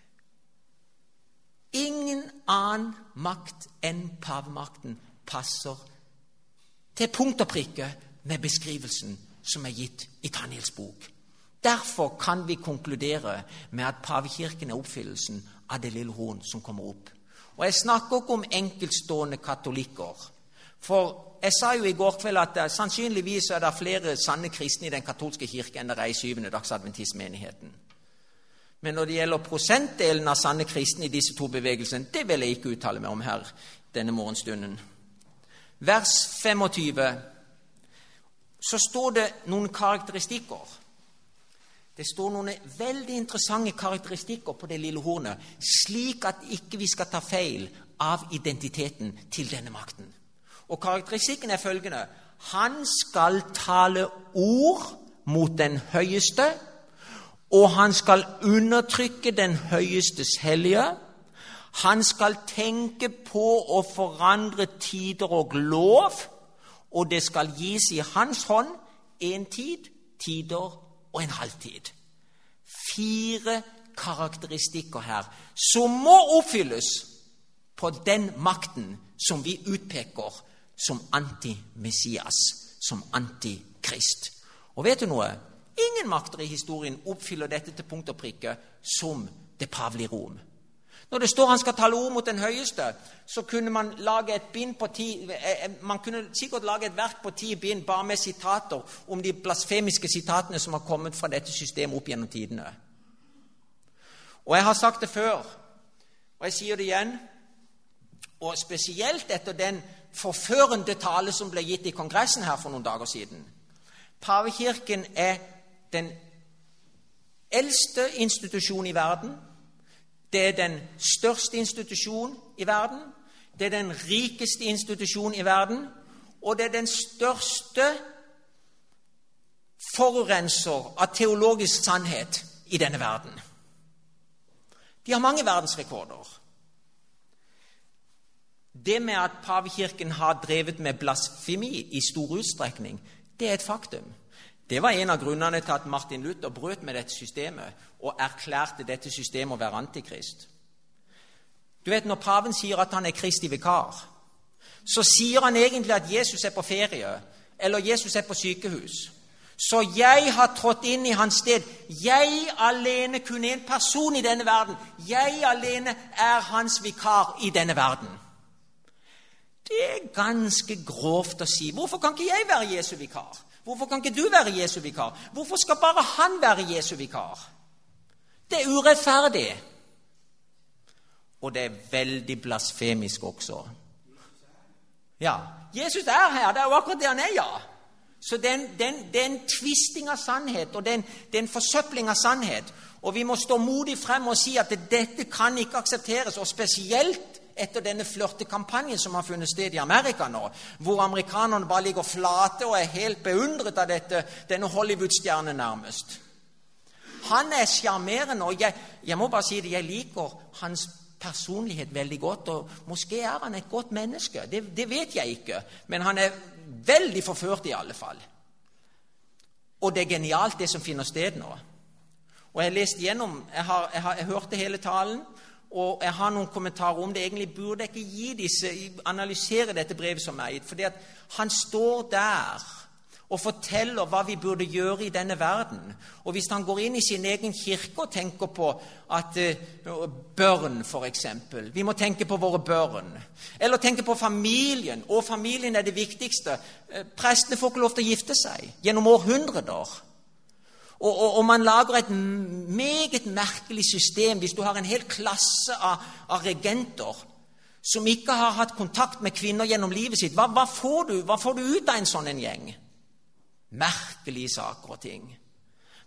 ingen annen makt enn pavemakten passer til punkt og prikke med beskrivelsen som er gitt i Daniels bok. Derfor kan vi konkludere med at pavekirken er oppfyllelsen av det lille horn som kommer opp. Og jeg snakker ikke om enkeltstående katolikker. For jeg sa jo i går kveld at sannsynligvis er det flere sanne kristne i den katolske kirke enn det er i 7. dagsadventistmenigheten. Men når det gjelder prosentdelen av sanne kristne i disse 2 bevegelsene, det vil jeg ikke uttale meg om her denne morgenstunden. Vers 25, så står det noen karakteristikker. Det står noen veldig interessante karakteristikker på det lille hornet, slik at ikke vi skal ta feil av identiteten til denne makten. Og karakteristikken er følgende: han skal tale ord mot den høyeste, og han skal undertrykke den høyestes hellige. Han skal tenke på å forandre tider og lov, og det skal gis i hans hånd en tid, tider og en halvtid. 4 karakteristikker her som må oppfylles på den makten som vi utpeker som anti-Messias, som antikrist. Og vet du noe? Ingen makter i historien oppfyller dette til punkt og prikke som det pavelige Rom. Når det står han skal tale ord mot den høyeste, så kunne man lage et bind på 10, man kunne sikkert lage et verk på 10 bind bare med sitater om de blasfemiske sitatene som har kommet fra dette systemet opp gjennom tidene. Og jeg har sagt det før, og jeg sier det igjen, og spesielt etter den forførende tale som ble gitt i kongressen her for noen dager siden. Pavekirken er den eldste institusjonen i verden. Det er den største institusjonen i verden. Det er den rikeste institusjonen i verden. Og det er den største forurenser av teologisk sannhet i denne verden. De har mange verdensrekorder. Det med at pavekirken har drevet med blasfemi i stor utstrekning, det er et faktum. Det var en av grunnene til at Martin Luther brøt med dette systemet og erklærte dette systemet å være antikrist. Du vet, når paven sier at han er Kristi vikar, så sier han egentlig at Jesus er på ferie, eller Jesus er på sykehus. Så jeg har trådt inn i hans sted. Jeg alene, kun en person i denne verden. Jeg alene er hans vikar i denne verden. Det er ganske grovt å si. Hvorfor kan ikke jeg være Jesu vikar? Hvorfor kan ikke du være Jesu vikar? Hvorfor skal bare han være Jesu vikar? Det er urettferdig. Og det er veldig blasfemisk også. Ja, Jesus er her. Det er jo akkurat det han er, ja. Så det er en tvisting av sannhet, og det er en forsøpling av sannhet. Og vi må stå modig frem og si at dette kan ikke aksepteres, og spesielt etter denne flørtekampanjen som har funnet sted i Amerika nå, hvor amerikanerne bare ligger flate og er helt beundret av denne Hollywood-stjernen nærmest. Han er charmerende, og jeg må bare si det, jeg liker hans personlighet veldig godt, og måske er han et godt menneske, det vet jeg ikke, men han er veldig forført i alle fall. Og det er genialt det som finner sted nå. Og jeg leste gjennom, jeg hørte hele talen, og jeg har noen kommentarer om det. Egentlig burde jeg ikke analysere dette brevet som er gitt, fordi at han står der og forteller hva vi burde gjøre i denne verden. Og hvis han går inn i sin egen kirke og tenker på at børn, for eksempel, vi må tenke på våre børn, eller tenke på familien, og familien er det viktigste. Prestene får ikke lov til å gifte seg gjennom århundrer. Og man lager et meget merkelig system hvis du har en hel klasse av regenter som ikke har hatt kontakt med kvinner gjennom livet sitt. Hva får du ut av en sånn en gjeng? Merkelige saker og ting.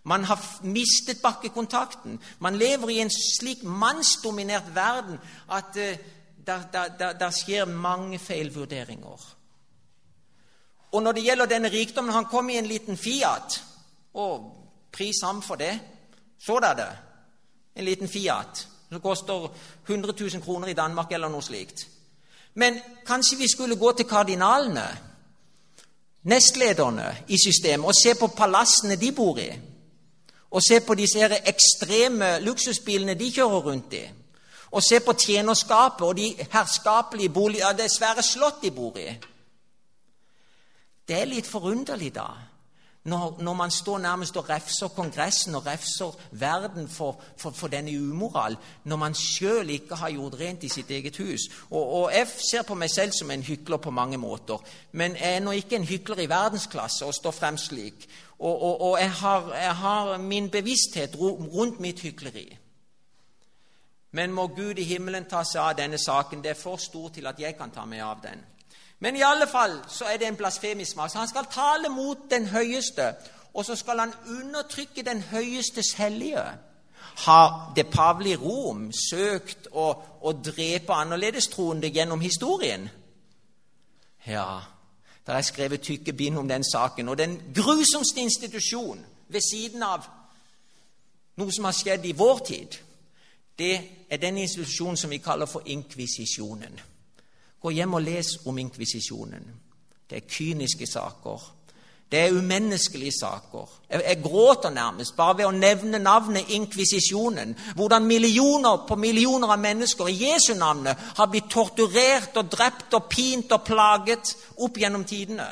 Man har mistet bakkekontakten. Man lever i en slik mannsdominert verden at der skjer mange feilvurderinger. Og når det gjelder denne rikdommen, han kom i en liten Fiat, og pris ham for det. Så det. En liten Fiat, som koster 100 000 kroner i Danmark eller noe slikt. Men kanskje vi skulle gå til kardinalene, nestlederne i systemet, og se på palassene de bor i, og se på disse her ekstreme luksusbilene de kjører rundt i, og se på tjenerskapet og de herskapelige boliger, det svære slott de bor i. Det er litt forunderlig da, når man står nærmest og refser kongressen og refser verden for denne umoral, når man selv ikke har gjort rent i sitt eget hus. Og jeg ser på meg selv som en hykler på mange måter, men jeg er nå ikke en hykler i verdensklasse og står frem slik. Og jeg har min bevissthet rundt mitt hykleri. Men må Gud i himmelen ta seg av denne saken, det er for stor til at jeg kan ta meg av den. Men i alle fall så er det en blasfemisk makt. Han skal tale mot den høyeste, og så skal han undertrykke den høyestes hellige. Har det pavelige Rom søkt å drepe annerledes troende gjennom historien? Ja, der er skrevet tykke bind om den saken, og den grusomste institusjon ved siden av noe som har skjedd i vår tid, det er den institusjonen som vi kaller for inkvisisjonen. Gå hjem og les om inkvisisjonen. Det er kyniske saker. Det er umenneskelige saker. Jeg gråter nærmest bare ved å nevne navnet inkvisisjonen. Hvordan millioner på millioner av mennesker i Jesu navnet har blitt torturert og drept og pint og plaget opp gjennom tidene.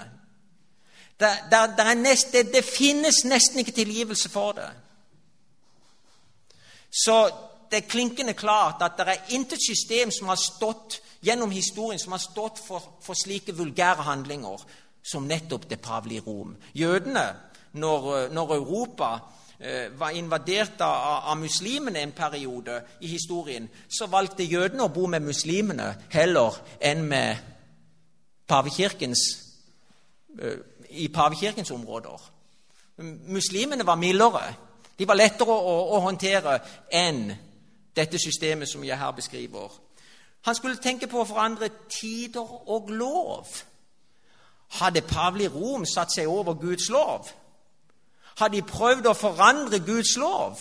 Det finnes nesten ikke tilgivelse for det. Så det er klinkende klart at det er intet system som har stått gjennom historien, som har stått for slike vulgære handlinger som nettopp det pavelige Rom. Jødene, når Europa var invadert av muslimene en periode i historien, så valgte jødene å bo med muslimene heller enn med i pavekirkens områder. Muslimene var mildere. De var lettere å håndtere enn dette systemet som jeg her beskriver. Han skulle tenke på å forandre tider og lov. Hadde pavelige Rom satt seg over Guds lov? Hadde de prøvd å forandre Guds lov?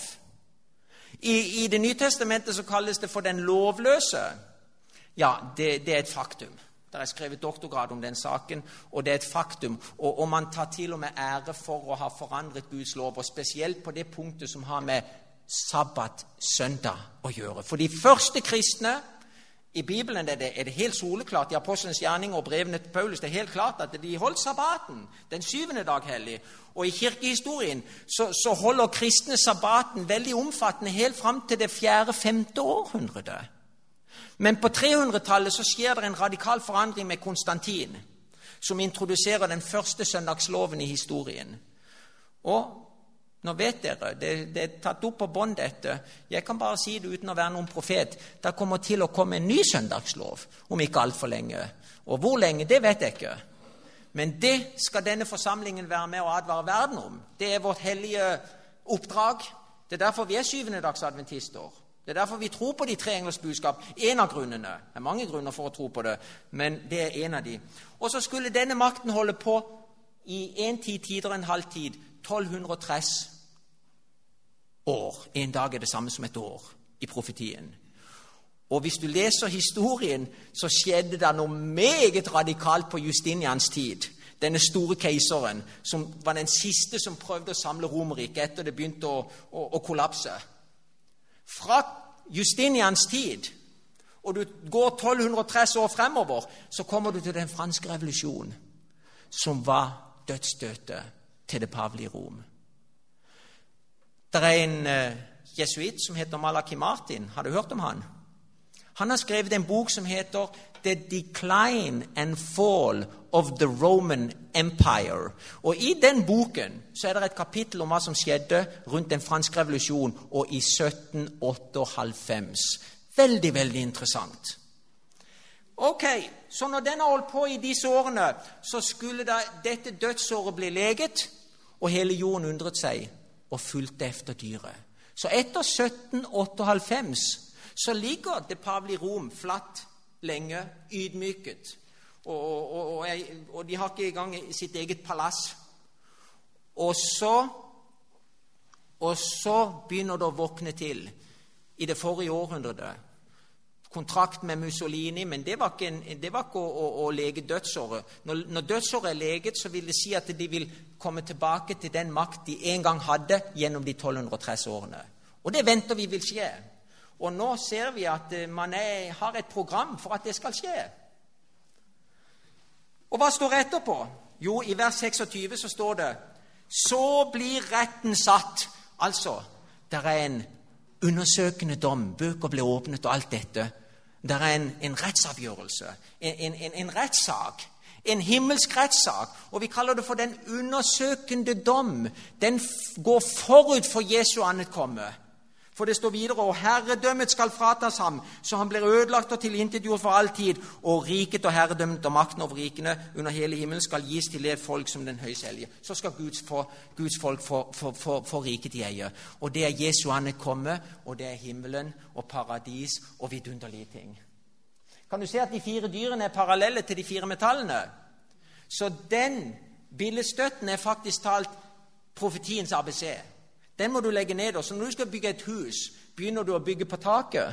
I Det nye testamentet så kalles det for den lovløse. Ja, det er et faktum. Det er skrevet doktorgrad om den saken, og det er et faktum. Og man tar til og med ære for å ha forandret Guds lov, og spesielt på det punktet som har med sabbat, søndag å gjøre. For de første kristne i Bibelen er det helt soleklart, i Apostlenes gjerninger og brevene til Paulus, det er helt klart at de holdt sabbaten, den 7. dag hellig. Og i kirkehistorien så holder kristne sabbaten veldig omfattende helt frem til det 4. 5. århundre. Men på 300-tallet så skjer det en radikal forandring med Konstantin, som introduserer den første søndagsloven i historien. Og nå vet dere, det er tatt opp på bånd dette. Jeg kan bare si det uten å være noen profet. Det kommer til å komme en ny søndagslov om ikke alt for lenge. Og hvor lenge, det vet jeg ikke. Men det skal denne forsamlingen være med å advare verden om. Det er vårt hellige oppdrag. Det er derfor vi er 7. dags adventister. Det er derfor vi tror på de 3 englers budskap. En av grunnene. Det er mange grunner for å tro på det, men det er en av de. Og så skulle denne makten holde på i en tider og en halv tid, 1230 år. En dag er det samme som et år i profetien. Og hvis du leser historien, så skjedde det noe meget radikalt på Justinians tid. Denne store keiseren, som var den siste som prøvde å samle Romerriket etter det begynte å kollapse. Fra Justinians tid, og du går 1230 år fremover, så kommer du til den franske revolusjonen, som var dødsstøtet til det pavelige Rom. Det er en jesuit som heter Malachi Martin. Har du hørt om han? Han har skrevet en bok som heter The Decline and Fall of the Roman Empire. Og i den boken så er det et kapittel om hva som skjedde rundt den franske revolusjonen og i 1798. Veldig, veldig interessant. Ok, så når den har holdt på i disse årene, så skulle dette dødsåret bli leget, og hele jorden undret seg. og fulgte efter dyret. Så etter 1798 så ligger det pavelige Rom flatt lenge, ydmyket. Og de har ikke engang sitt eget palass. Og så begynner det å våkne til i det forrige århundret. Kontrakt med Mussolini, men det var ikke å lege dødsåret. Når dødsåret er leget, så vil det si at de vil komme tilbake til den makt de en gang hadde gjennom de 1230 årene. Og det venter vi vil skje. Og nå ser vi at man har et program for at det skal skje. Og hva står etterpå? Jo, i vers 26 så står det: så blir retten satt. Altså, det er en undersøkende dom, bøker ble åpnet og alt dette. Det er en rettsavgjørelse, en rettssak, en himmelsk rettssak, og vi kaller det for den undersøkende dom. Den går forut for Jesu ankomme. For det står videre: og herredømmet skal fratas ham, så han blir ødelagt og tilintetgjort for all tid, og riket og herredømmet og makten over rikene under hele himmelen skal gis til det folk som den høyselge. Så skal Guds folk få riket i eie. Og det er Jesu ankomme, og det er himmelen og paradis og vidunderlige ting. Kan du se at de 4 dyrene er parallelle til de 4 metallene? Så den billedstøtten er faktisk talt profetiens ABC. Den må du legge ned. Og så når du skal bygge et hus, begynner du å bygge på taket?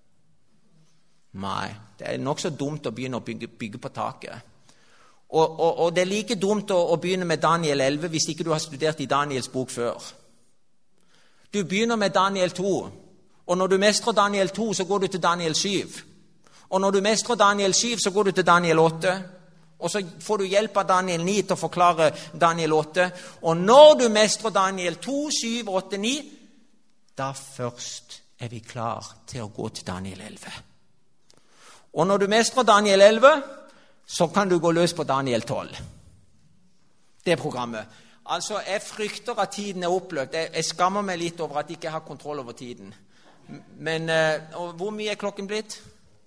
Nei, det er nok så dumt å begynne å bygge på taket. Og det er like dumt å begynne med Daniel 11 hvis ikke du har studert i Daniels bok før. Du begynner med Daniel 2, og når du mestrer Daniel 2, så går du til Daniel 7. Og når du mestrer Daniel 7, så går du til Daniel 8. Og så får du hjelp av Daniel 9 til å forklare Daniel 8. Og når du mestrer Daniel 2, 7, 8, 9, da først er vi klar til å gå til Daniel 11. Og når du mestrer Daniel 11, så kan du gå løs på Daniel 12. Det er programmet. Altså, jeg frykter at tiden er oppløpt. Jeg skammer meg litt over at jeg ikke har kontroll over tiden. Men hvor mye er klokken blitt?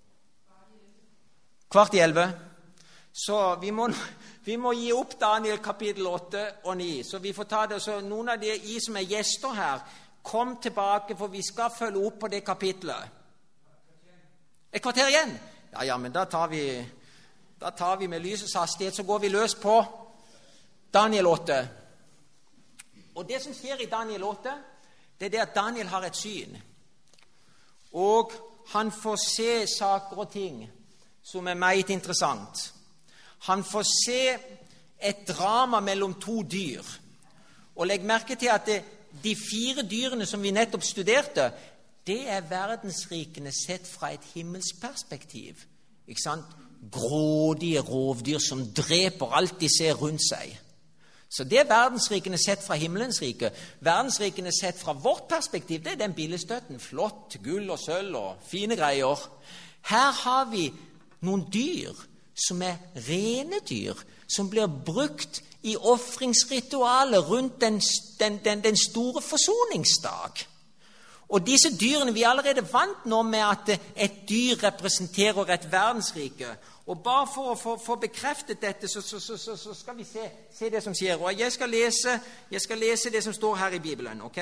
11:15. Så vi må gi opp Daniel kapittel 8 og 9. Så vi får ta det. Så noen av de som er gjester her, kom tilbake, for vi skal følge opp på det kapitlet. Et kvarter igjen? Ja, men da tar vi med lysets hastighet, så går vi løs på Daniel 8. Og det som skjer i Daniel 8, det er det at Daniel har et syn. Og han får se saker og ting som er meget interessant. Han får se et drama mellom 2 dyr. Og legg merke til at de 4 dyrene som vi nettopp studerte, det er verdensrikene sett fra et himmelsperspektiv. Ikke sant? Grådige rovdyr som dreper alt de ser rundt seg. Så det er verdensrikene sett fra himmelens rike. Verdensrikene sett fra vårt perspektiv, det er den billedstøtten. Flott, gull og sølv og fine greier. Her har vi noen dyr som er rene dyr, som blir brukt i offringsritualet rundt den store forsoningsdag. Og disse dyrene, vi er allerede vant nå med at et dyr representerer et verdensrike. Og bare for å få bekreftet dette, så skal vi se det som skjer. Og jeg skal lese det som står her i Bibelen, ok?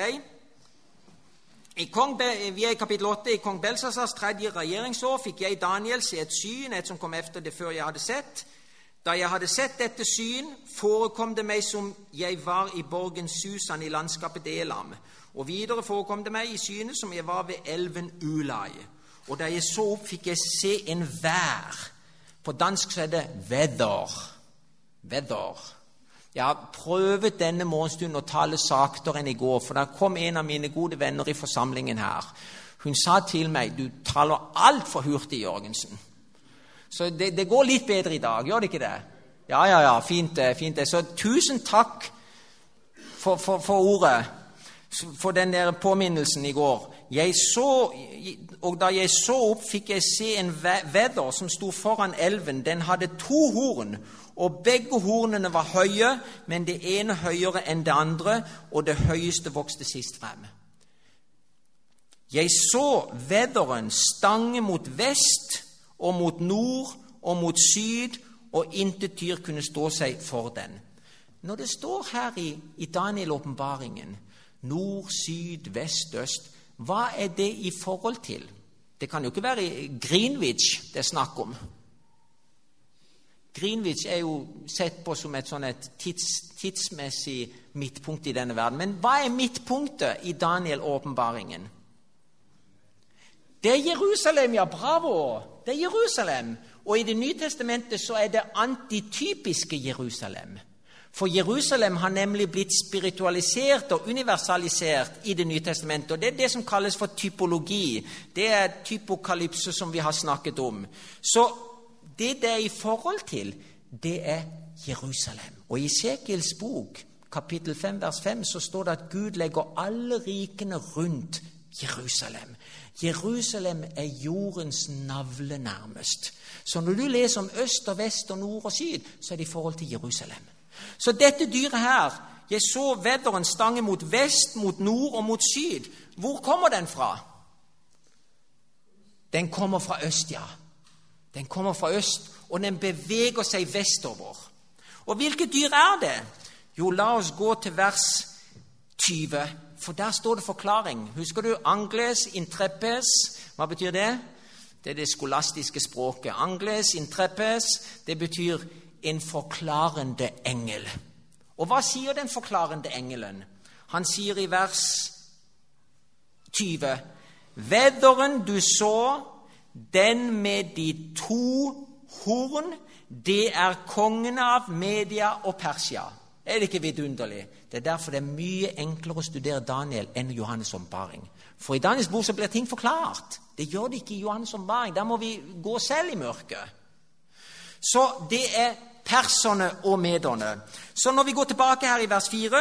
Vi er i kapittel 8. I kong Belsasars 3. regjeringsår fikk jeg Daniel se et syn, et som kom efter det før jeg hadde sett. Da jeg hadde sett dette syn, forekom det meg som jeg var i borgen Susan i landskapet Elam. Og videre forekom det meg i synet som jeg var ved elven Ulai. Og da jeg så opp, fikk jeg se en vær. På dansk så er det vedder. Jeg har prøvet denne morgenstunden å tale saktere enn i går, for da kom en av mine gode venner i forsamlingen her. Hun sa til meg: du taler alt for hurtig, Jørgensen. Så det går litt bedre i dag, gjør det ikke det? Ja, fint det. Så tusen takk for ordet, for den der påminnelsen i går. Og da jeg så opp, fikk jeg se en vedder som sto foran elven. Den hadde 2 horn, og begge hornene var høye, men det ene høyere enn det andre, og det høyeste vokste sist frem. Jeg så vedderen stange mot vest og mot nord og mot syd, og intet dyr kunne stå seg for den. Når det står her i Daniel-åpenbaringen, Nord, syd, vest, øst. Hva er det i forhold til? Det kan jo ikke være Greenwich det er snakk om. Greenwich er jo sett på som et tidsmessig midtpunkt i denne verden. Men hva er midtpunktet i Daniel-åpenbaringen? Det er Jerusalem, ja, bravo! Det er Jerusalem. Og i Det nye testamentet så er det antitypiske Jerusalem. For Jerusalem har nemlig blitt spiritualisert og universalisert i Det nye testamentet. Og det er det som kalles for typologi. Det er typokalypse som vi har snakket om. Så det er i forhold til, det er Jerusalem. Og i Esekiels bok, kapittel 5, vers 5, så står det at Gud legger alle rikene rundt Jerusalem. Jerusalem er jordens navle nærmest. Så når du leser om øst og vest og nord og syd, så er det i forhold til Jerusalem. Så dette dyret her, jeg så vedderen stange mot vest, mot nord og mot syd. Hvor kommer den fra? Den kommer fra øst, ja. Den kommer fra øst, og den beveger seg vestover. Og hvilket dyr er det? Jo, la oss gå til vers 20, for der står det forklaring. Husker du Angles intrepes? Hva betyr det? Det er det skolastiske språket. Angles intrepes, det betyr en forklarende engel. Og hva sier den forklarende engelen? Han sier i vers 20, vedderen du så, den med de 2 horn, det er kongen av Media og Persia. Er det ikke vidunderlig? Det er derfor det er mye enklere å studere Daniel enn Johannes' åpenbaring. For i Daniels bok så blir ting forklart. Det gjør det ikke i Johannes' åpenbaring. Der må vi gå selv i mørket. Så det er perserne og mederne. Så når vi går tilbake her i vers 4,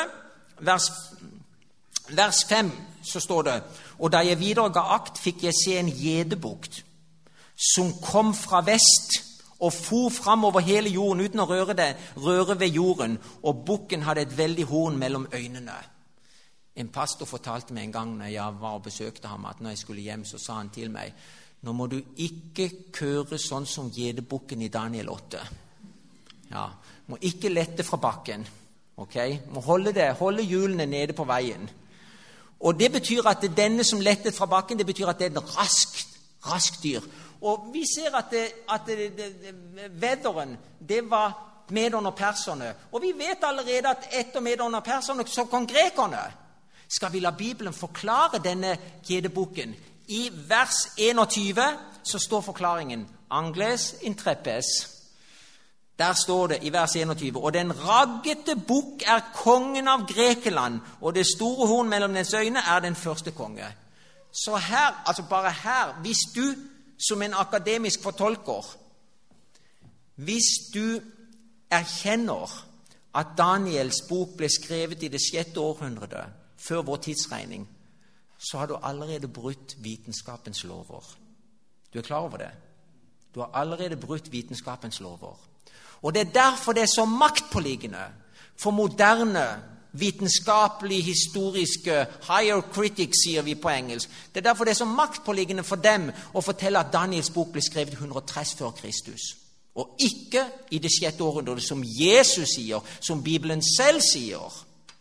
vers 5, så står det, og da jeg videre ga akt, fikk jeg se en gjedebukt, som kom fra vest og for fram over hele jorden uten å røre ved jorden, og bukken hadde et veldig horn mellom øynene. En pastor fortalte meg en gang når jeg var og besøkte ham, at når jeg skulle hjem, så sa han til meg, nå må du ikke køre sånn som gjedebukken i Daniel 8. Ja, må ikke lette fra bakken, ok? Må holde hjulene nede på veien. Og det betyr at denne som lettet fra bakken, det betyr at det er en rask dyr. Og vi ser at vedderen, det var mederne og perserne. Og vi vet allerede at etter mederne og perserne så kom grekerne. Skal vi la Bibelen forklare denne gjedebukken? I vers 21 så står forklaringen Angles intrepes. Der står det i vers 21, og den raggete bukk er kongen av Grekeland, og det store horn mellom dens øyne er den første konge. Så her, altså bare her, hvis du som en akademisk fortolker, hvis du erkjenner at Daniels bok ble skrevet i det 6. århundre før vår tidsregning, så har du allerede brutt vitenskapens lover. Du er klar over det? Du har allerede brutt vitenskapens lover. Og det er derfor det er så maktpåliggende for moderne, vitenskapelig, historiske, higher critics, sier vi på engelsk. Det er derfor det er så maktpåliggende for dem å fortelle at Daniels bok ble skrevet 130 før Kristus. Og ikke i det 6. århundre, som Jesus sier, som Bibelen selv sier.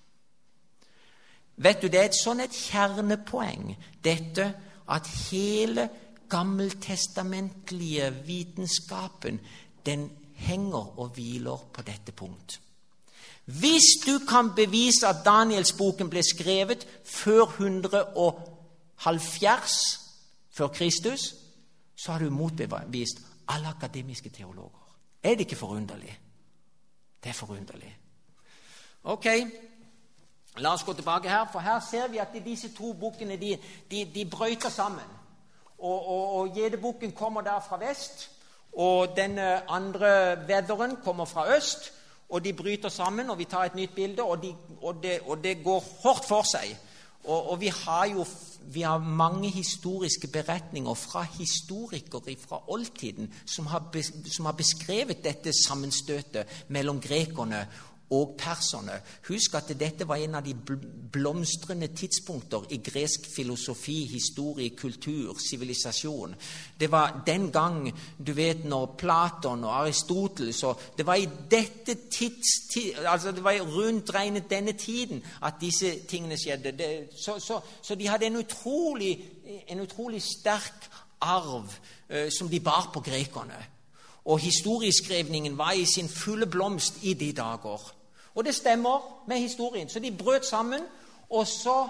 Vet du, det er et kjernepoeng, dette at hele gammeltestamentlige vitenskapen, den henger og hviler på dette punkt. Hvis du kan bevise at Daniels-boken ble skrevet før 170 før Kristus, så har du motbevist alle akademiske teologer. Er det ikke forunderlig? Det er forunderlig. Ok, la oss gå tilbake her, for her ser vi at disse 2 bokene, de brøyter sammen. Og gjedebukken kommer der fra vest, og den andre vedderen kommer fra øst, og de bryter sammen, og vi tar et nytt bilde, og det går hårdt for seg. Og vi har mange historiske beretninger fra historikere fra oldtiden som har beskrevet dette sammenstøtet mellom grekerne og perserne. Husk at dette var en av de blomstrende tidspunkter i gresk filosofi, historie, kultur, sivilisasjon. Det var den gang, du vet, når Platon og Aristoteles, det var i dette altså det var rundt regnet denne tiden at disse tingene skjedde. Så de hadde en utrolig sterk arv som de bar på grekerne. Og historieskrivningen var i sin fulle blomst i de dager. Og det stemmer med historien. Så de brøt sammen, og så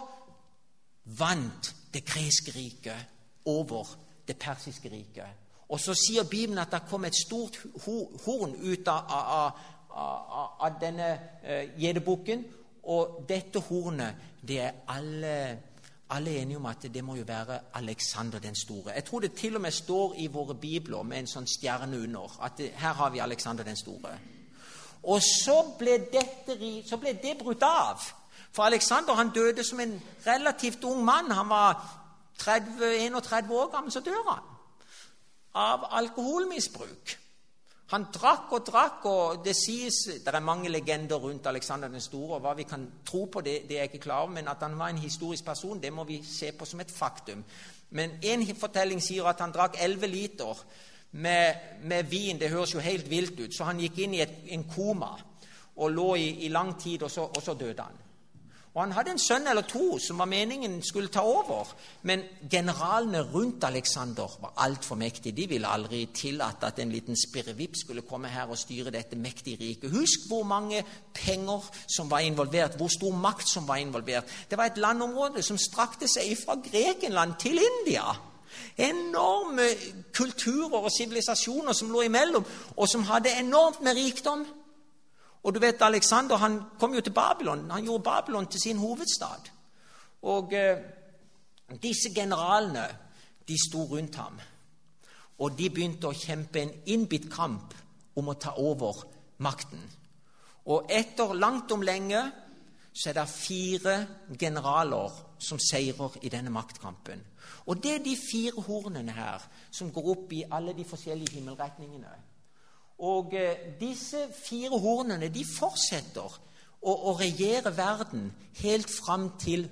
vant det greske riket over det persiske riket. Og så sier Bibelen at det kom et stort horn ut av denne gjedebukken, og dette hornet, det er alle enige om at det må jo være Alexander den store. Jeg tror det til og med står i våre bibler med en sånn stjerne under, at her har vi Alexander den store. Og så ble det brutt av. For Alexander, han døde som en relativt ung mann. Han var 31 år gammel, så dør han av alkoholmisbruk. Han drakk, og det sies, det er mange legender rundt Alexander den store, og hva vi kan tro på det er jeg ikke klar over, men at han var en historisk person, det må vi se på som et faktum. Men en fortelling sier at han drakk 11 liter med vin. Det høres jo helt vilt ut, så han gikk inn i en koma og lå i lang tid, og så døde han. Og han hadde en sønn eller to som var meningen skulle ta over, men generalene rundt Alexander var alt for mektige. De ville aldri tillate at en liten spirrevipp skulle komme her og styre dette mektige riket. Husk hvor mange penger som var involvert, hvor stor makt som var involvert. Det var et landområde som strakte seg fra Grekenland til India. Enorme kulturer og sivilisasjoner som lå imellom, og som hadde enormt med rikdom. Og du vet, Alexander, han kom jo til Babylon. Han gjorde Babylon til sin hovedstad. Og disse generalene, de sto rundt ham. Og de begynte å kjempe en innbitt kamp om å ta over makten. Og etter langt om lenge, så er det 4 generaler som seirer i denne maktkampen. Og det er de 4 hornene her, som går opp i alle de forskjellige himmelretningene. Og disse 4 hornene, de fortsetter å regjere verden helt fram til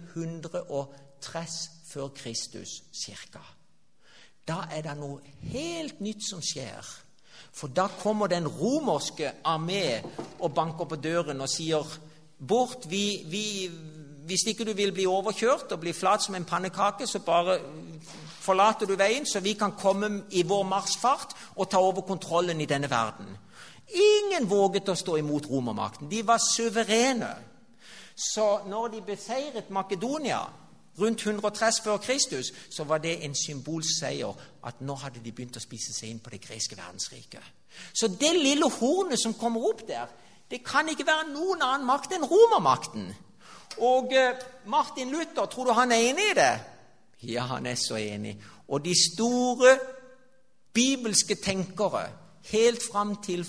130 før Kristus cirka. Da er det noe helt nytt som skjer. For da kommer den romerske armé og banker på døren og sier, bort, hvis ikke du vil bli overkjørt og bli flat som en pannekake, så bare forlater du veien, så vi kan komme i vår marsfart og ta over kontrollen i denne verden. Ingen våget å stå imot romermakten. De var suverene. Så når de beseiret Makedonia rundt 130 før Kristus, så var det en symbolseier at nå hadde de begynt å spise seg inn på det greske verdensriket. Så det lille hornet som kommer opp der, det kan ikke være noen annen makt enn romermakten. Og Martin Luther, tror du han er enig i det? Ja, han er så enig. Og de store bibelske tenkere, helt fram til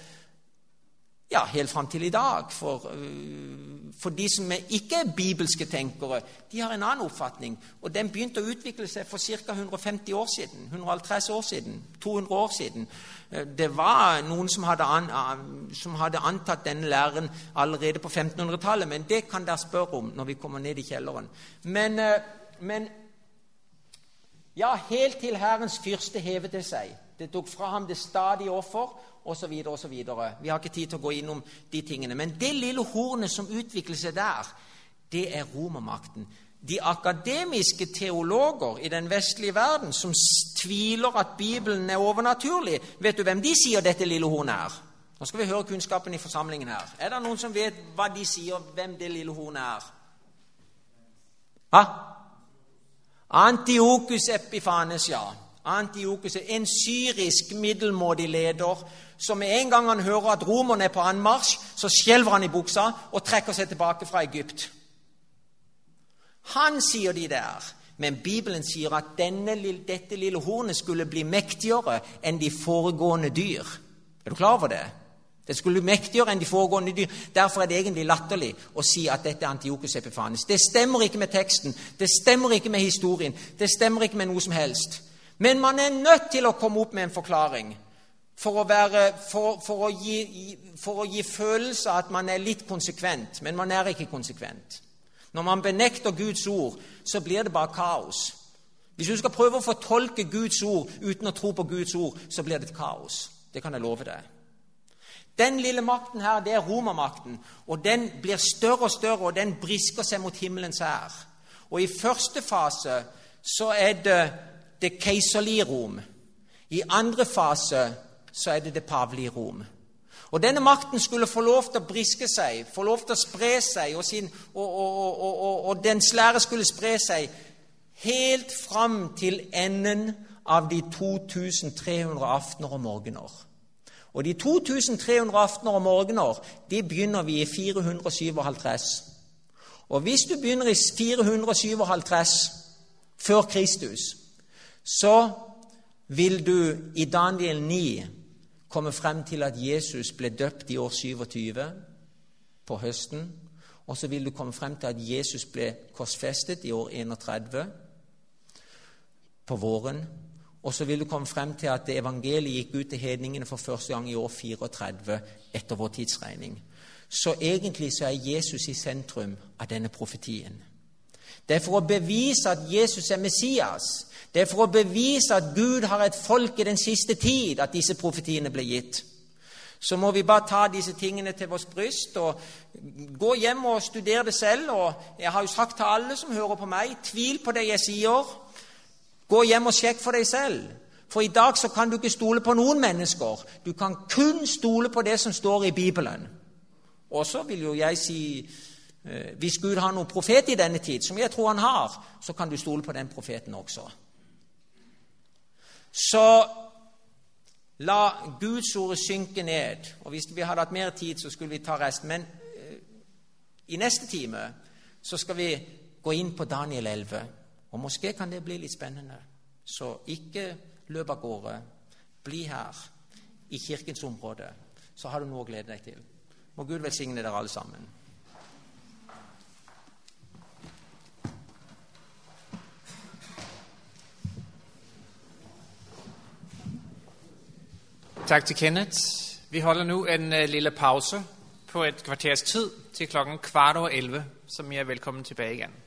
i dag, for de som ikke er bibelske tenkere, de har en annen oppfatning. Og den begynte å utvikle seg for ca. 150 år siden, 150 år siden, 200 år siden. Det var noen som hadde antatt denne læren allerede på 1500-tallet, men det kan dere spørre om når vi kommer ned i kjelleren. Men ja, helt til Herrens fyrste hevet det seg. Det tok fra ham det stadige offer, og så videre, og så videre. Vi har ikke tid til å gå innom de tingene. Men det lille hornet som utvikler seg der, det er romermakten. De akademiske teologer i den vestlige verden som tviler at Bibelen er overnaturlig, vet du hvem de sier dette lille hornet er? Nå skal vi høre kunnskapen i forsamlingen her. Er det noen som vet hva de sier, hvem det lille hornet er? Hva? Antiochus Epiphanes, ja. Antiochus er en syrisk middelmådig leder som med en gang han hører at romerne er på anmarsj, så skjelver han i buksa og trekker seg tilbake fra Egypt. Han sier de der, men Bibelen sier at dette lille hornet skulle bli mektigere enn de foregående dyr. Er du klar over det? Det skulle bli mektigere enn de foregående dyr. Derfor er det egentlig latterlig å si at dette er Antiochus Epiphanes. Det stemmer ikke med teksten, det stemmer ikke med historien, det stemmer ikke med noe som helst. Men man er nødt til å komme opp med en forklaring. for å gi følelse av at man er litt konsekvent, men man er ikke konsekvent. Når man benekter Guds ord, så blir det bare kaos. Hvis du skal prøve å fortolke Guds ord uten å tro på Guds ord, så blir det et kaos. Det kan jeg love deg. Den lille makten her, det er romermakten, og den blir større og større, og den brisker seg mot himmelens hær. Og i første fase så er det keiserlige Rom. I andre fase så er det pavelige Rom. Og denne makten skulle få lov til å briske seg, få lov til å spre seg, og dens lære skulle spre seg helt fram til enden av de 2300 aftener og morgener. Og de 2300 aftener og morgener, de begynner vi i 457. Og hvis du begynner i 457 før Kristus, så vil du i Daniel 9 komme frem til at Jesus ble døpt i år 27 på høsten, og så vil du komme frem til at Jesus ble korsfestet i år 31 på våren, og så vil du komme frem til at evangeliet gikk ut til hedningene for første gang i år 34 etter vår tidsregning. Så egentlig så er Jesus i sentrum av denne profetien. Det er for å bevise at Jesus er Messias. Det er for å bevise at Gud har et folk i den siste tid, at disse profetiene ble gitt. Så må vi bare ta disse tingene til vårt bryst og gå hjem og studere det selv. Og jeg har jo sagt til alle som hører på meg, tvil på det jeg sier. Gå hjem og sjekk for deg selv. For i dag så kan du ikke stole på noen mennesker. Du kan kun stole på det som står i Bibelen. Og så vil jo jeg si, hvis Gud har noen profet i denne tid, som jeg tror han har, så kan du stole på den profeten også. Så la Guds ord synke ned. Og hvis vi hadde hatt mer tid, så skulle vi ta resten. Men i neste time så skal vi gå inn på Daniel 11. Og måske kan det bli litt spennende. Så ikke løp av gårde. Bli her i kirkens område. Så har du noe å glede deg til. Må Gud velsigne dere alle sammen. Tak til Kenneth. Vi holder nu en lille pause på et kvarters tid til klokken 10:15, som I er velkommen tilbage igen.